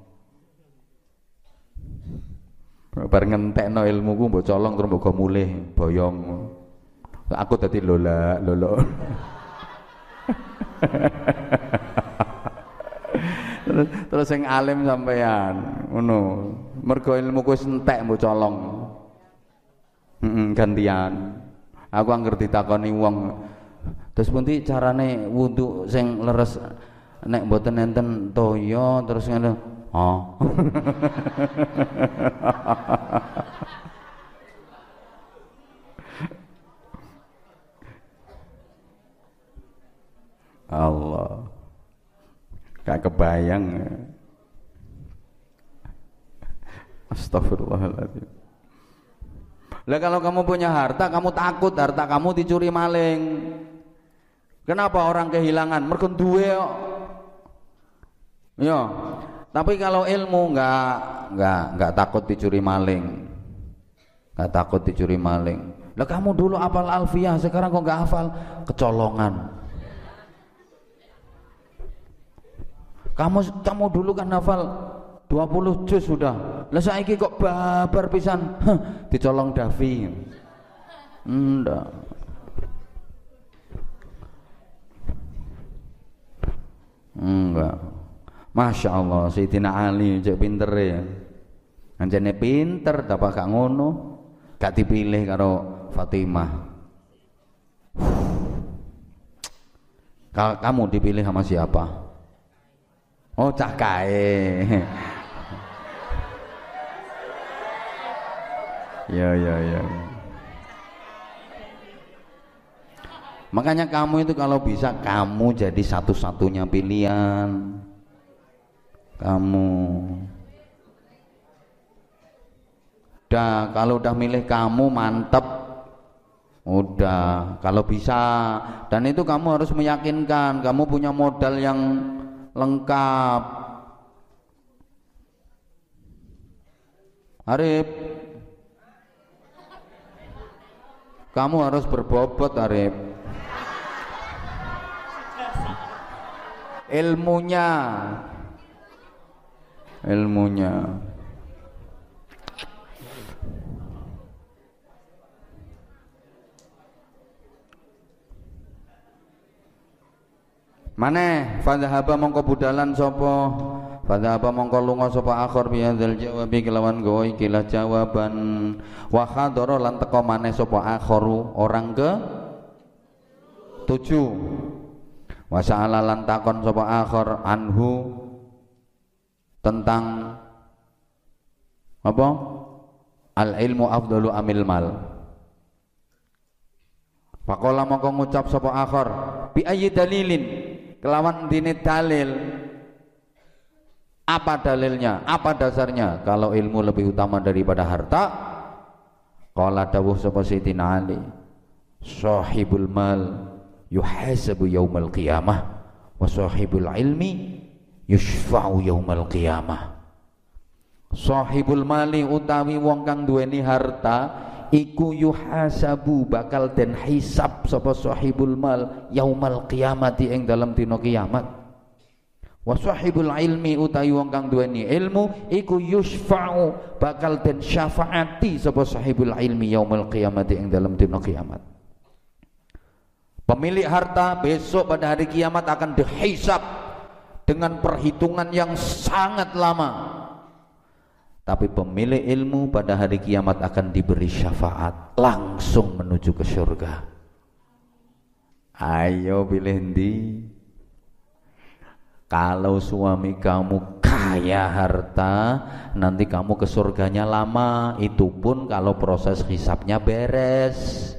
Bar ngentekno ilmu ku mbok colong terus mbok mulih boyong. Aku dadi lola. Terus yang alim sampean ngono mergo ilmuku wis entek mbok colong. Gantian aku angger ditakoni wong terus pundi carane wudu sing leres nek mboten enten toya terus ngono Allah gak kebayang. Astagfirullahaladzim. Lah kalau kamu punya harta, kamu takut harta kamu dicuri maling. Kenapa orang kehilangan? Mergo duwe kok. Ya. Tapi kalau ilmu enggak takut dicuri maling. Enggak takut dicuri maling. Lah kamu dulu hafal Alfiyah, sekarang kok enggak hafal? Kecolongan. Kamu dulu kan hafal 20 juz sudah. Lah saiki kok babar pisan. Dicolong Davi. Ndak. Enggak. Masya Allah, Sayyidina Ali cek pinter ya. Anjane pinter, dapat gak ngono. Gak dipilih karo Fatimah. Kamu dipilih sama siapa? Oh, cah kae. Ya. Makanya kamu itu kalau bisa kamu jadi satu-satunya pilihan. Kamu. Kalau udah milih kamu mantep. Udah, kalau bisa. Dan itu kamu harus meyakinkan kamu punya modal yang lengkap. Arif, kamu harus berbobot Arif. ilmunya. Maneh fadhahaba mongko budalan sapa fadhahaba mongko lunga sapa akhir bihadzal jawabi kelawan gawa ikilah jawaban wa khadara lan teka maneh sapa akharu orang ke 7 wa sa'ala lan takon sapa akhir anhu tentang apa al ilmu afdalu amil mal. Faqala mongko ngucap sapa akhir bi ayyi dalilin kelawan dini dalil. Apa dalilnya? Apa dasarnya? Kalau ilmu lebih utama daripada harta? Qala dawuh sapa Sayyidina Ali, sahibul mal yuhasabu yaumal qiyamah wa sahibul ilmi yushfa'u yaumal qiyamah. Sahibul mali utawi wong kang duweni harta iku yuhasabu bakal den hisab sapa sahibul mal yaumal qiyamati ing dalam dina kiamat. Wa sahibul ilmi utawi wong kang duweni ilmu iku yushfa'u bakal den syafaati sapa sahibul ilmi yaumal qiyamati ing dalam dina kiamat. Pemilik harta besok pada hari kiamat akan dihisab dengan perhitungan yang sangat lama. Tapi pemilik ilmu pada hari kiamat akan diberi syafaat langsung menuju ke surga. Ayo pilih ndi? Kalau suami kamu kaya harta, nanti kamu ke surganya lama. Itu pun kalau proses hisabnya beres.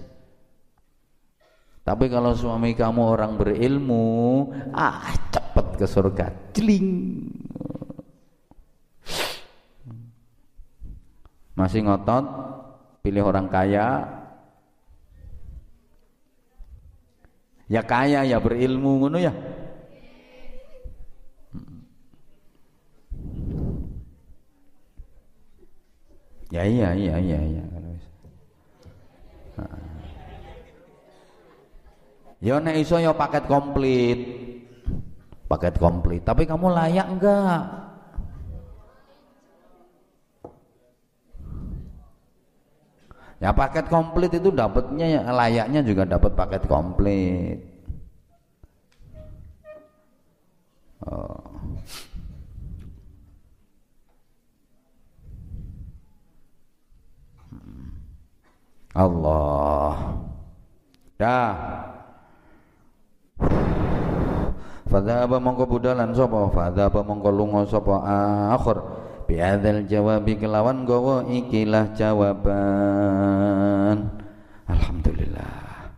Tapi kalau suami kamu orang berilmu, cepet ke surga, jeling. Masih ngotot pilih orang kaya, ya kaya ya berilmu ngono ya. Ya iya. Ya nek iso ya paket komplit. Tapi kamu layak enggak? Ya paket komplit itu dapatnya layaknya juga dapat paket komplit. Allah. Dah. Fadhaba mongko budalan sapa? Fadhaba mongko lunga sapa akhir biadzal jawabi kelawan gawa ikilah jawaban. Alhamdulillah.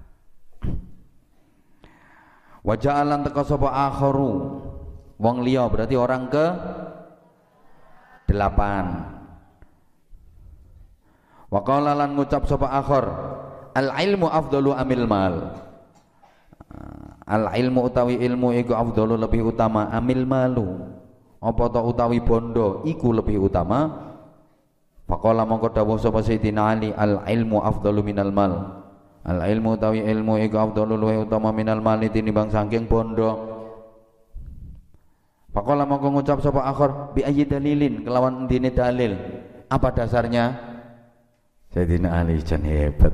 Wa ja'alan teka sapa akharu wong liya berarti orang ke 8. Wa qala lan ngucap sapa akhir al ilmu afdalu amil mal. Al ilmu utawi ilmu iku afdalu lebih utama amil malu. Apa ta utawi bondo iku lebih utama. Faqala mongko dawuh sapa Sayyidina Ali al ilmu afdalu minal mal. Al ilmu utawi ilmu iku afdalu luwih utama minal mal tinimbang saking bondo. Faqala mongko ngucap sapa akhir bi ayyi dalilin kelawan endine dalil. Apa dasarnya? Sayyidina Ali jan hebat.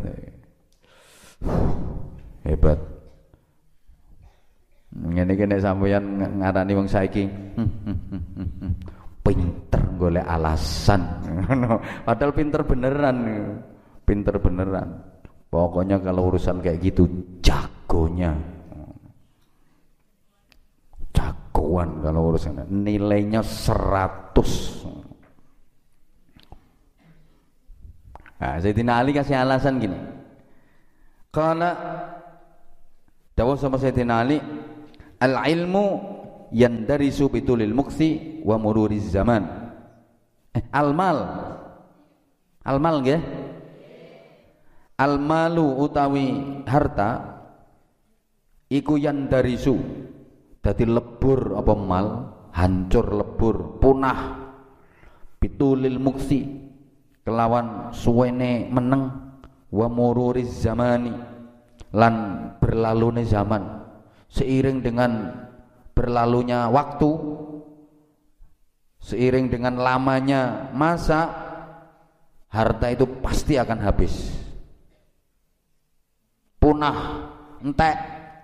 Hebat. Ngene iki nek sampeyan ngarani wong saiki pinter golek alasan ngono. Padahal pinter beneran. Pokoknya kalau urusan kayak gitu jagonya. Jagoan kalau urusan nilainya 100. Nah, Sayyidina Ali kasih alasan gini. Karena dawuh sama Sayyidina Ali al-ilmu yandarisu bitulil muksi wa mururiz zaman. Al-mal nggih. Al-malu utawi harta iku yandarisu dadi lebur apa mal, hancur lebur, punah bitulil muksi kelawan suwene meneng wa mururiz zamani lan berlalune zaman. Seiring dengan berlalunya waktu, seiring dengan lamanya masa, harta itu pasti akan habis, punah, entek.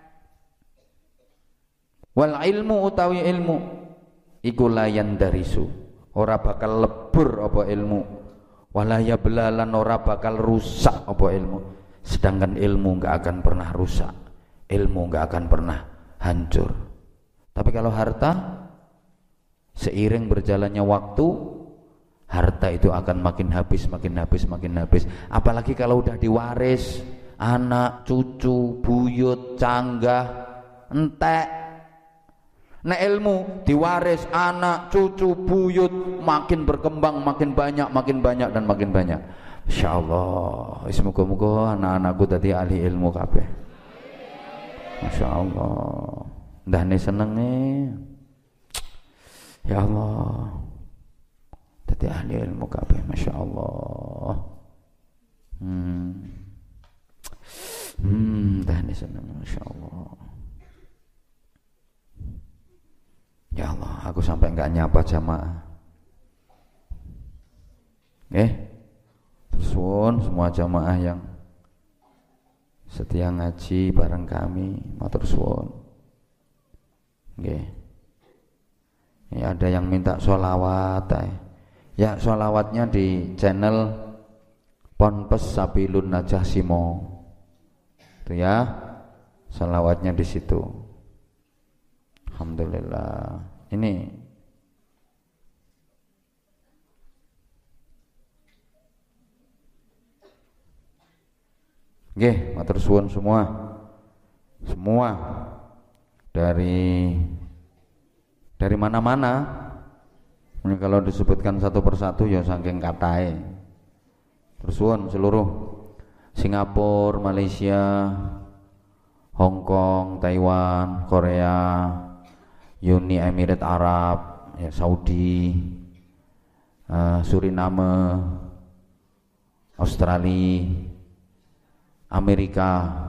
Wal ilmu utawi ilmu iku layan darisu, ora bakal lebur apa ilmu, walaya belalan ora bakal rusak apa ilmu. Sedangkan ilmu enggak akan pernah rusak, ilmu enggak akan pernah hancur. Tapi kalau harta, seiring berjalannya waktu, harta itu akan makin habis, makin habis, makin habis. Apalagi kalau udah diwaris, anak, cucu, buyut, canggah, entek. Nah ilmu diwaris anak, cucu, buyut, makin berkembang, makin banyak dan makin banyak. Insyaallah, semoga-moga anak-anakku tadi ahli ilmu kabeh. Masyaallah. Ndahne seneng nih. Ya Allah. Tadi ahli ilmu kabeh, masyaallah. Ndahne seneng, masyaallah. Ya Allah, aku sampai enggak nyapa jamaah. Terus semua jamaah yang setia ngaji bareng kami, matur suwun. Nggih. Ya, ada yang minta sholawat. Ya, sholawatnya di channel Ponpes Sabilun Najah Simo. Itu ya, sholawatnya di situ. Alhamdulillah. Ini nggih, matur suwun semua. Semua dari mana-mana. Ini kalau disebutkan satu persatu ya saking katae. Terus suwun seluruh Singapura, Malaysia, Hong Kong, Taiwan, Korea, Uni Emirat Arab, ya, Saudi, Suriname, Australia, Amerika,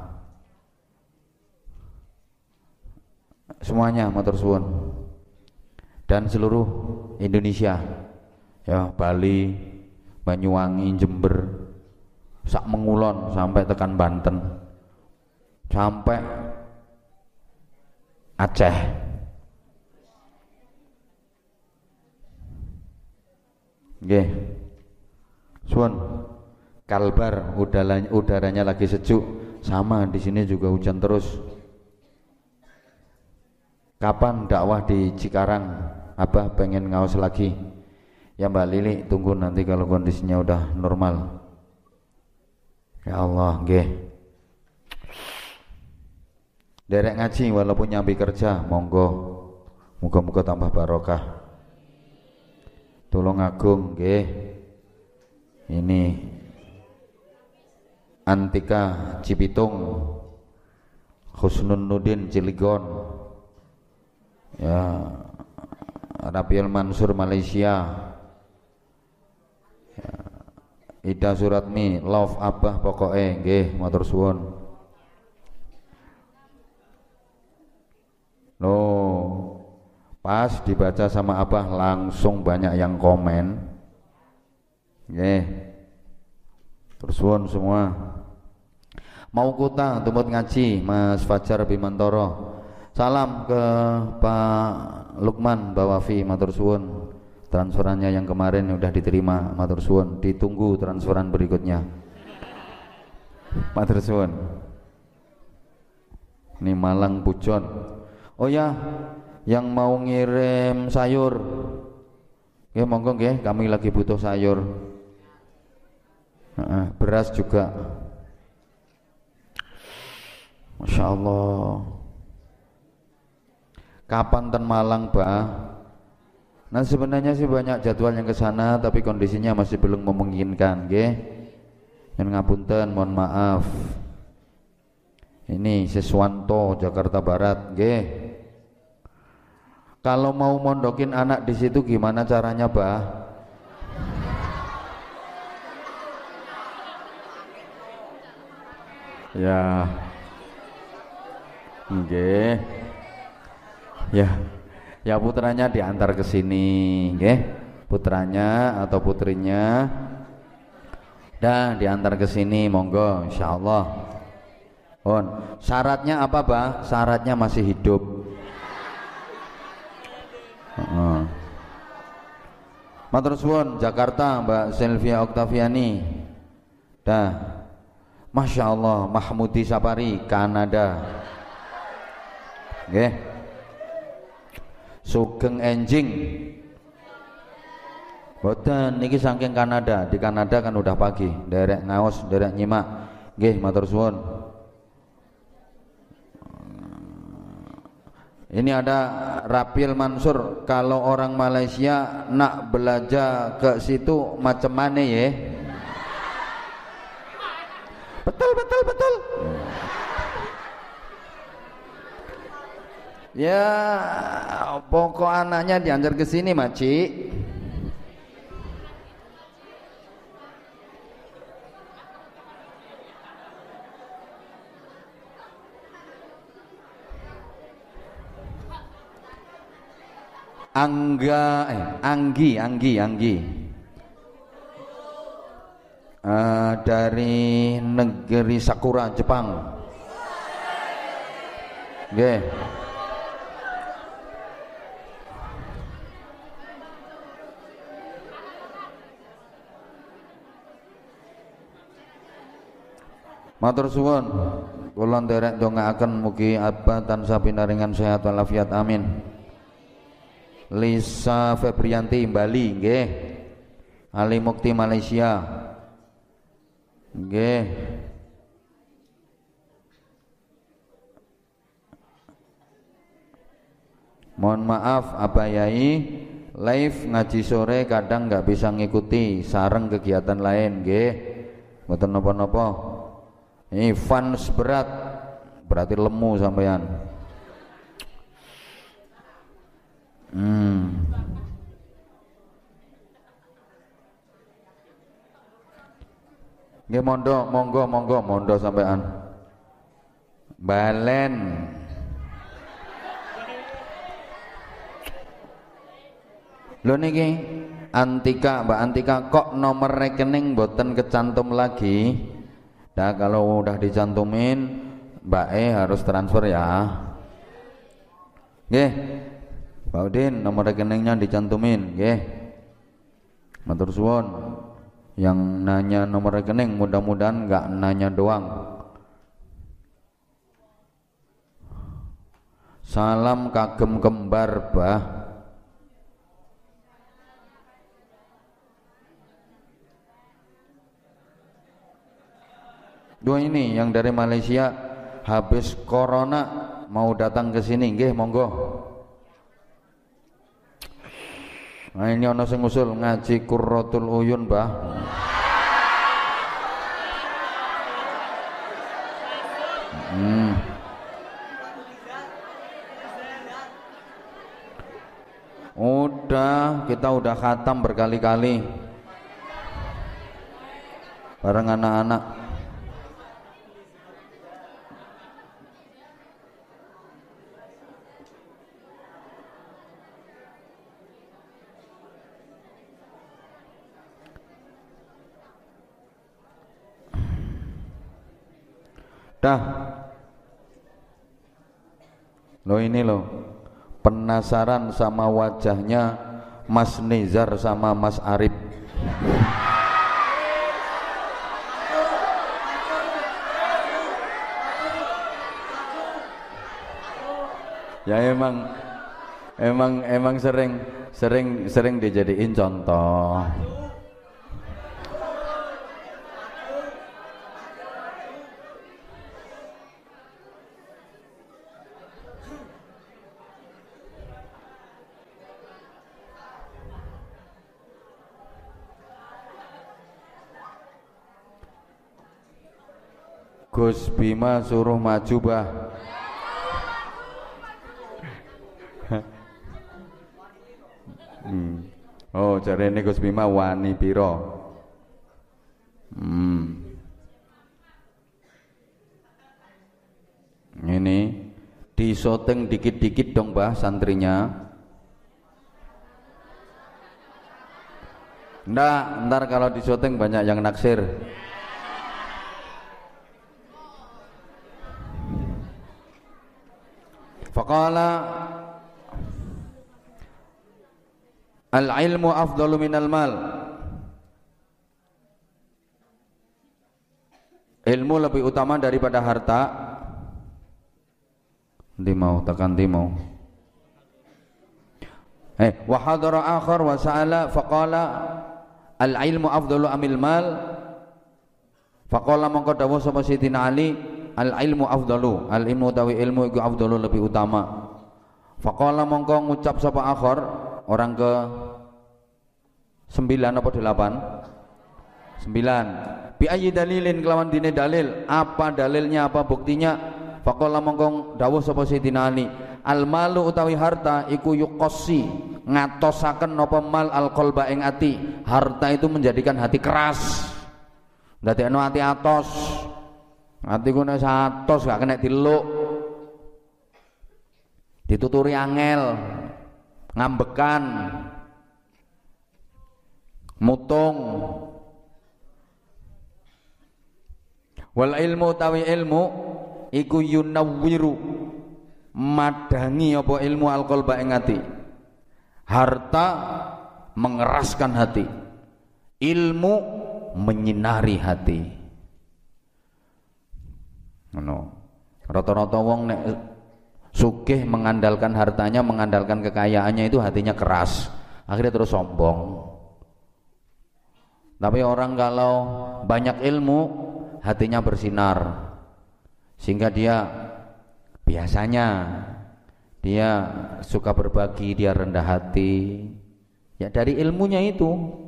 semuanya matur suwun. Dan seluruh Indonesia, ya, Bali, Banyuwangi, Jember, sak Mengulon sampai tekan Banten, sampai Aceh. Nggih. Suwun. Kalbar, udaranya lagi sejuk, sama di sini juga hujan terus. Kapan dakwah di Cikarang? Abah pengen ngaos lagi. Ya Mbak Lili, tunggu nanti kalau kondisinya udah normal. Ya Allah, nggih. Derek ngaji walaupun nyambi kerja, monggo. Muga-muga tambah barokah. Tulung Agung, nggih. Ini Antika Cibitung, Husnun Nudin Cilegon, ya, Rabiul Mansur Malaysia, ya, Ida Suratmi, love Abah pokoknya, nggih, matur suwun. Pas dibaca sama Abah langsung banyak yang komen, nggih. Terus suwun semua. Mau kuta tumut ngaji Mas Fajar Bimantoro. Salam ke Pak Lukman Bawafi, matur suwun. Transferannya yang kemarin udah diterima, matur suwun. Ditunggu transferan berikutnya. Matur suwun. Ini Malang Pujon. Oh ya, yang mau ngirim sayur, ya monggo nggih, kami lagi butuh sayur. Beras juga. Masya Allah. Kapan ten Malang, Bah? Nah sebenarnya sih banyak jadwal yang ke sana, tapi kondisinya masih belum memungkinkan, nggih. Yang ngapunten, mohon maaf. Ini Siswanto, Jakarta Barat, nggih. Kalau mau mondokin anak di situ gimana caranya, Bah? Ya, nggih. Ya, ya putranya diantar ke sini, nggih. Putranya atau putrinya dah diantar ke sini, monggo insyaallah. Syaratnya apa, Bah? Syaratnya masih hidup. Matur suwun, Jakarta, Mbak Sylvia Oktaviani. Dah. Masya Allah, Mahmudi Sapari, Kanada. Nggih. Sugeng Enjing. Boten niki saking Kanada. Di Kanada kan udah pagi. Derek ngaos, derek nyimak. Nggih, matur suwun. Ini ada Rapil Mansur, kalau orang Malaysia nak belajar ke situ macam mana ya? Betul. Ya, pokok anaknya diantar ke sini, Maci. Anggi dari negeri Sakura, Jepang. Nggih. Matur suwun, kula nderek ndongaaken mugi abah tansah pinaringan sehat walafiat, amin. Lisa Febrianti Bali, nggih. Ali Mukti Malaysia, nggih. Mohon maaf Abah Yai, live ngaji sore kadang nggak bisa ngikuti sareng kegiatan lain, nggih. Mboten napa-napa. Ini fans berat, berarti lemu sampean. Nggih, monggo sampean. Balen. Lho niki Antika, Mbak Antika, kok nomor rekening boten kecantum lagi? Nah, kalau udah dicantumin Mbak harus transfer ya. Nggih. Pak Udin, nomor rekeningnya dicantumin, nggih. Matur suwun. Yang nanya nomor rekening mudah-mudahan enggak nanya doang. Salam kagem kembar, Bah. Dua ini yang dari Malaysia habis corona mau datang ke sini, nggih, monggo. Nah, ini ono sing usul ngaji Qurratul Uyun, Bah. Kita udah khatam berkali-kali bareng anak-anak. Dah. Lo ini lo penasaran sama wajahnya Mas Nizar sama Mas Arif. Ya emang sering dijadiin contoh. Gus Bima suruh maju, Bah. Oh, jarene Gus Bima wani piro? Ini Disyuting dikit-dikit dong Mbah santrinya. Ntar kalau disyuting banyak yang naksir. Faqala al-ilmu afdalu minal mal. Ilmu lebih utama daripada harta. Tekan timau. Wa hadara akhar wa sa'ala faqala al-ilmu afdalu amil mal. Faqala mongko dawuh sapa Sidina Ali, al-ilmu afdalu, al-ilmu tawi ilmu iku afdalu lebih utama. Faqala mongko ngucap sapa akhar, orang ke 9 apa 8? 9. Bi ayyi dalilin kelawan dine dalil, apa dalilnya, apa buktinya? Faqala mongko dawuh sapa Sayyidina Ali, al malu utawi harta iku yuqassi, ngatosaken napa mal al qalba ing ati. Harta itu menjadikan hati keras, ndadekno ati atos. Ati ku nek atos gak kena diluk, dituturi angel, ngambekan, mutung. Wal ilmu utawi ilmu iku yunawwiru, madangi apa ilmu alqalba ing ati. Harta mengeraskan hati, ilmu menyinari hati. Rata-rata wong nek sugih mengandalkan hartanya, mengandalkan kekayaannya, itu hatinya keras, akhirnya terus sombong. Tapi orang kalau banyak ilmu, hatinya bersinar, sehingga dia biasanya dia suka berbagi, dia rendah hati. Ya dari ilmunya itu,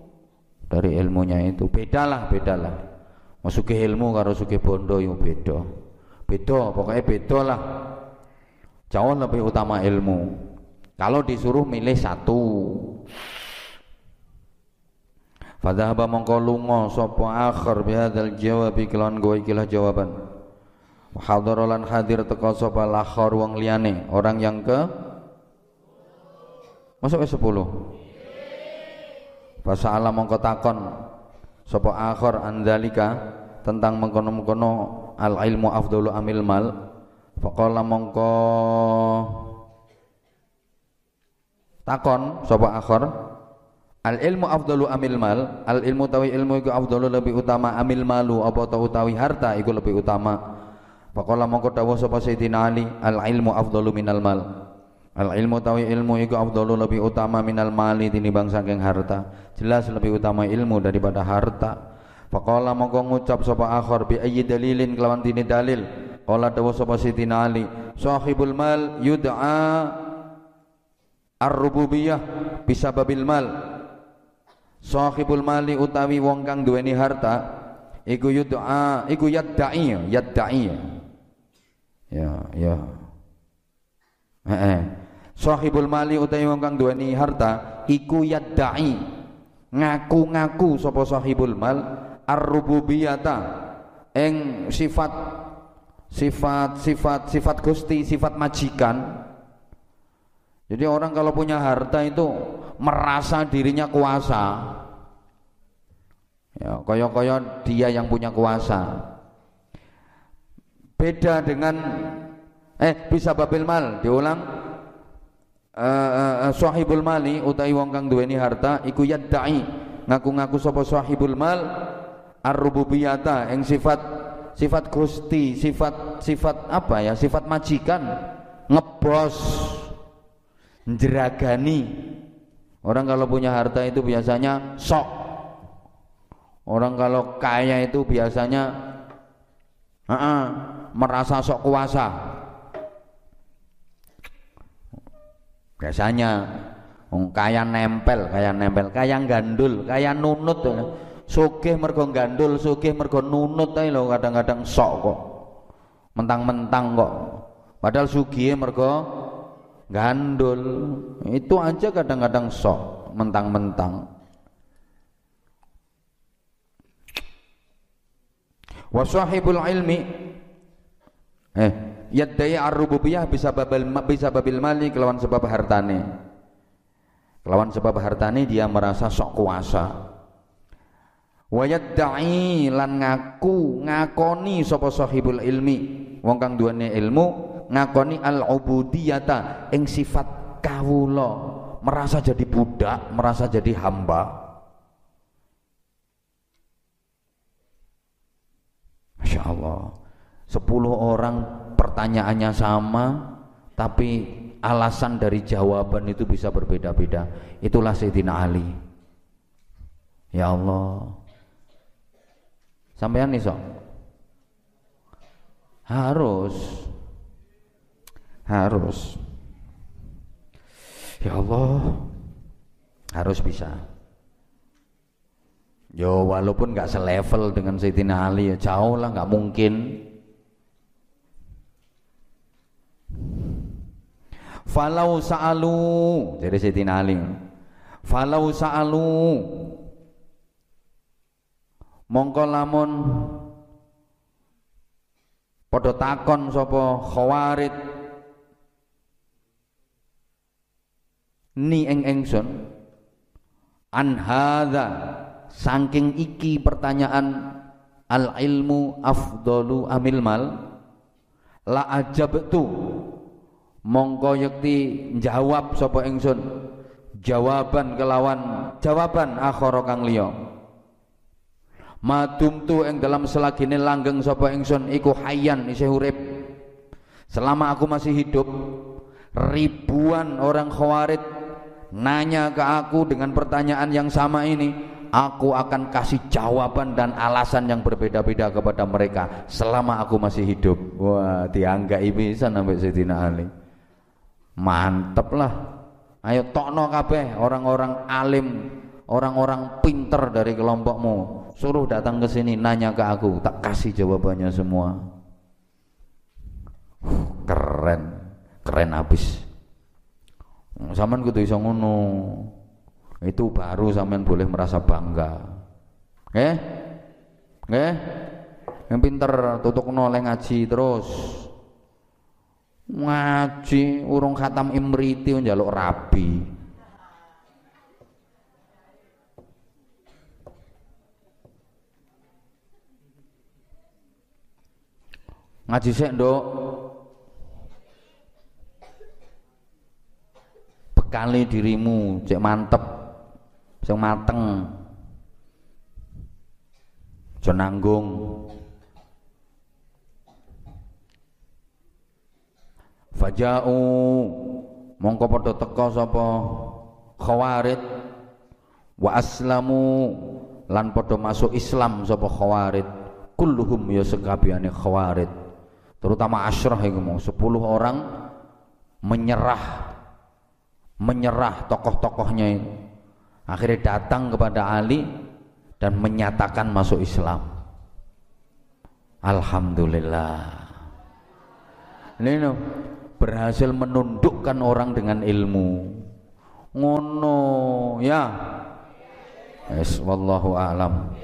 bedalah. Mau sugih ilmu karo sugih bondo yo beda, pokoknya beda lah. Jauh lebih utama ilmu. Kalau disuruh milih satu, fadhahaba mongko lunga sapa akhir bihadzal jawabi kelawan goe ikilah jawaban. Hadaralan hadir teka sapa lakhar wong liyane, orang yang ke masuk ke 10. Fasa'ala mongko takon sapa akhir andalika tentang mengkono-mengkono al ilmu afdalu amil mal. Faqala mongko takon sapa akhir, al ilmu afdalu amil mal, al ilmu tawi ilmu iku afdalu lebih utama amil malu, apa ta utawi harta iku lebih utama. Faqala mongko dawuh sapa Sayyidina Ali, al ilmu afdalu minal mal, al ilmu tawi ilmu iku afdalu lebih utama minal mali tinimbang saking harta. Jelas lebih utama ilmu daripada harta. Faqala mongko ngucap sapa akhir, bi ayyi dalilin kelawan dini dalil. Qala dawuh sapa Sayyidina Ali, sahibul mal yud'a ar-rububiyah bisababil mal. Sahibul mali utawi wong kang duweni harta iku yud'a, iku yadda'i. Ya. Sahibul mali utawi wong kang duweni harta iku yadda'i, ngaku-ngaku sapa sahibul mal ar-rububiyata ing sifat Gusti, sifat majikan. Jadi orang kalau punya harta itu merasa dirinya kuasa. Ya, koyo-koyo dia yang punya kuasa. Beda dengan bisa babil mal, diulang. Sahibul mali utawi wong kang duweni harta iku yadda'i, ngaku-ngaku sapa sahibul mal ar-rububiyata ing sifat Gusti, sifat apa ya? Sifat majikan, ngebos, njeragani. Orang kalau punya harta itu biasanya sok. Orang kalau kaya itu biasanya merasa sok kuasa. Biasanya kaya nempel, kaya gandul, kaya nunut. Sugih mergo gandul, sugih mergo nunut ae lho, kadang-kadang sok kok. Mentang-mentang kok. Padahal sugih mergo gandul. Itu aja kadang-kadang sok, mentang-mentang. Wa sahibul ilmi yaddai ar-rububiyah bisa babil mali kelawan sebab hartane. Kelawan sebab hartane dia merasa sok kuasa. Wa yadda'i lan ngakoni sapa sahibul ilmi, wong kang duweni ilmu ngakoni al-ubudiyata ing sifat kawula, merasa jadi budak, merasa jadi hamba. Masya Allah, 10 orang pertanyaannya sama, tapi alasan dari jawaban itu bisa berbeda-beda. Itulah Sayyidina Ali. Ya Allah, sampean nih sok harus ya Allah, harus bisa. Yo walaupun nggak selevel dengan Sayyidina Ali, ya jauh lah, nggak mungkin. Falau sa'alu, jadi Sayyidina Ali, falau sa'alu, mongko lamun padha takon sapa khawarid ni ing ingsun an hadza saking iki pertanyaan al ilmu afdalu amil mal la ajabtu mongko yakti jawab sapa ingsun jawaban kelawan jawaban akhara kang liya madumtu ing dalam selagine langgeng sapa ingsun iku hayyan isih urip selama aku masih hidup. Ribuan orang khawarid nanya ke aku dengan pertanyaan yang sama ini, aku akan kasih jawaban dan alasan yang berbeda-beda kepada mereka selama aku masih hidup. Wah, dianggai bisa sampai Sayyidina Ali. Mantep lah. Ayo tokno kabeh orang-orang alim, orang-orang pinter dari kelompokmu, suruh datang ke sini nanya ke aku, tak kasih jawabannya semua. Keren habis. Sampean kudu iso ngono. Itu baru sampean boleh merasa bangga. Yang pinter tutukno le ngaji terus. Ngaji urung khatam imriti njaluk rabi. Ngaji sik, Nduk. Bekali dirimu cek mantep, sing mateng. Aja nanggung. Faja'u mongko padha teka sapa khawarid wa aslamu lan padha masuk Islam sapa khawarid kulluhum ya sekabehane khawarid terutama asyrah iku mau 10 orang menyerah tokoh-tokohnya itu akhirnya datang kepada Ali dan menyatakan masuk Islam. Alhamdulillah. Ini berhasil menundukkan orang dengan ilmu. Ngono ya. Wallahu a'lam.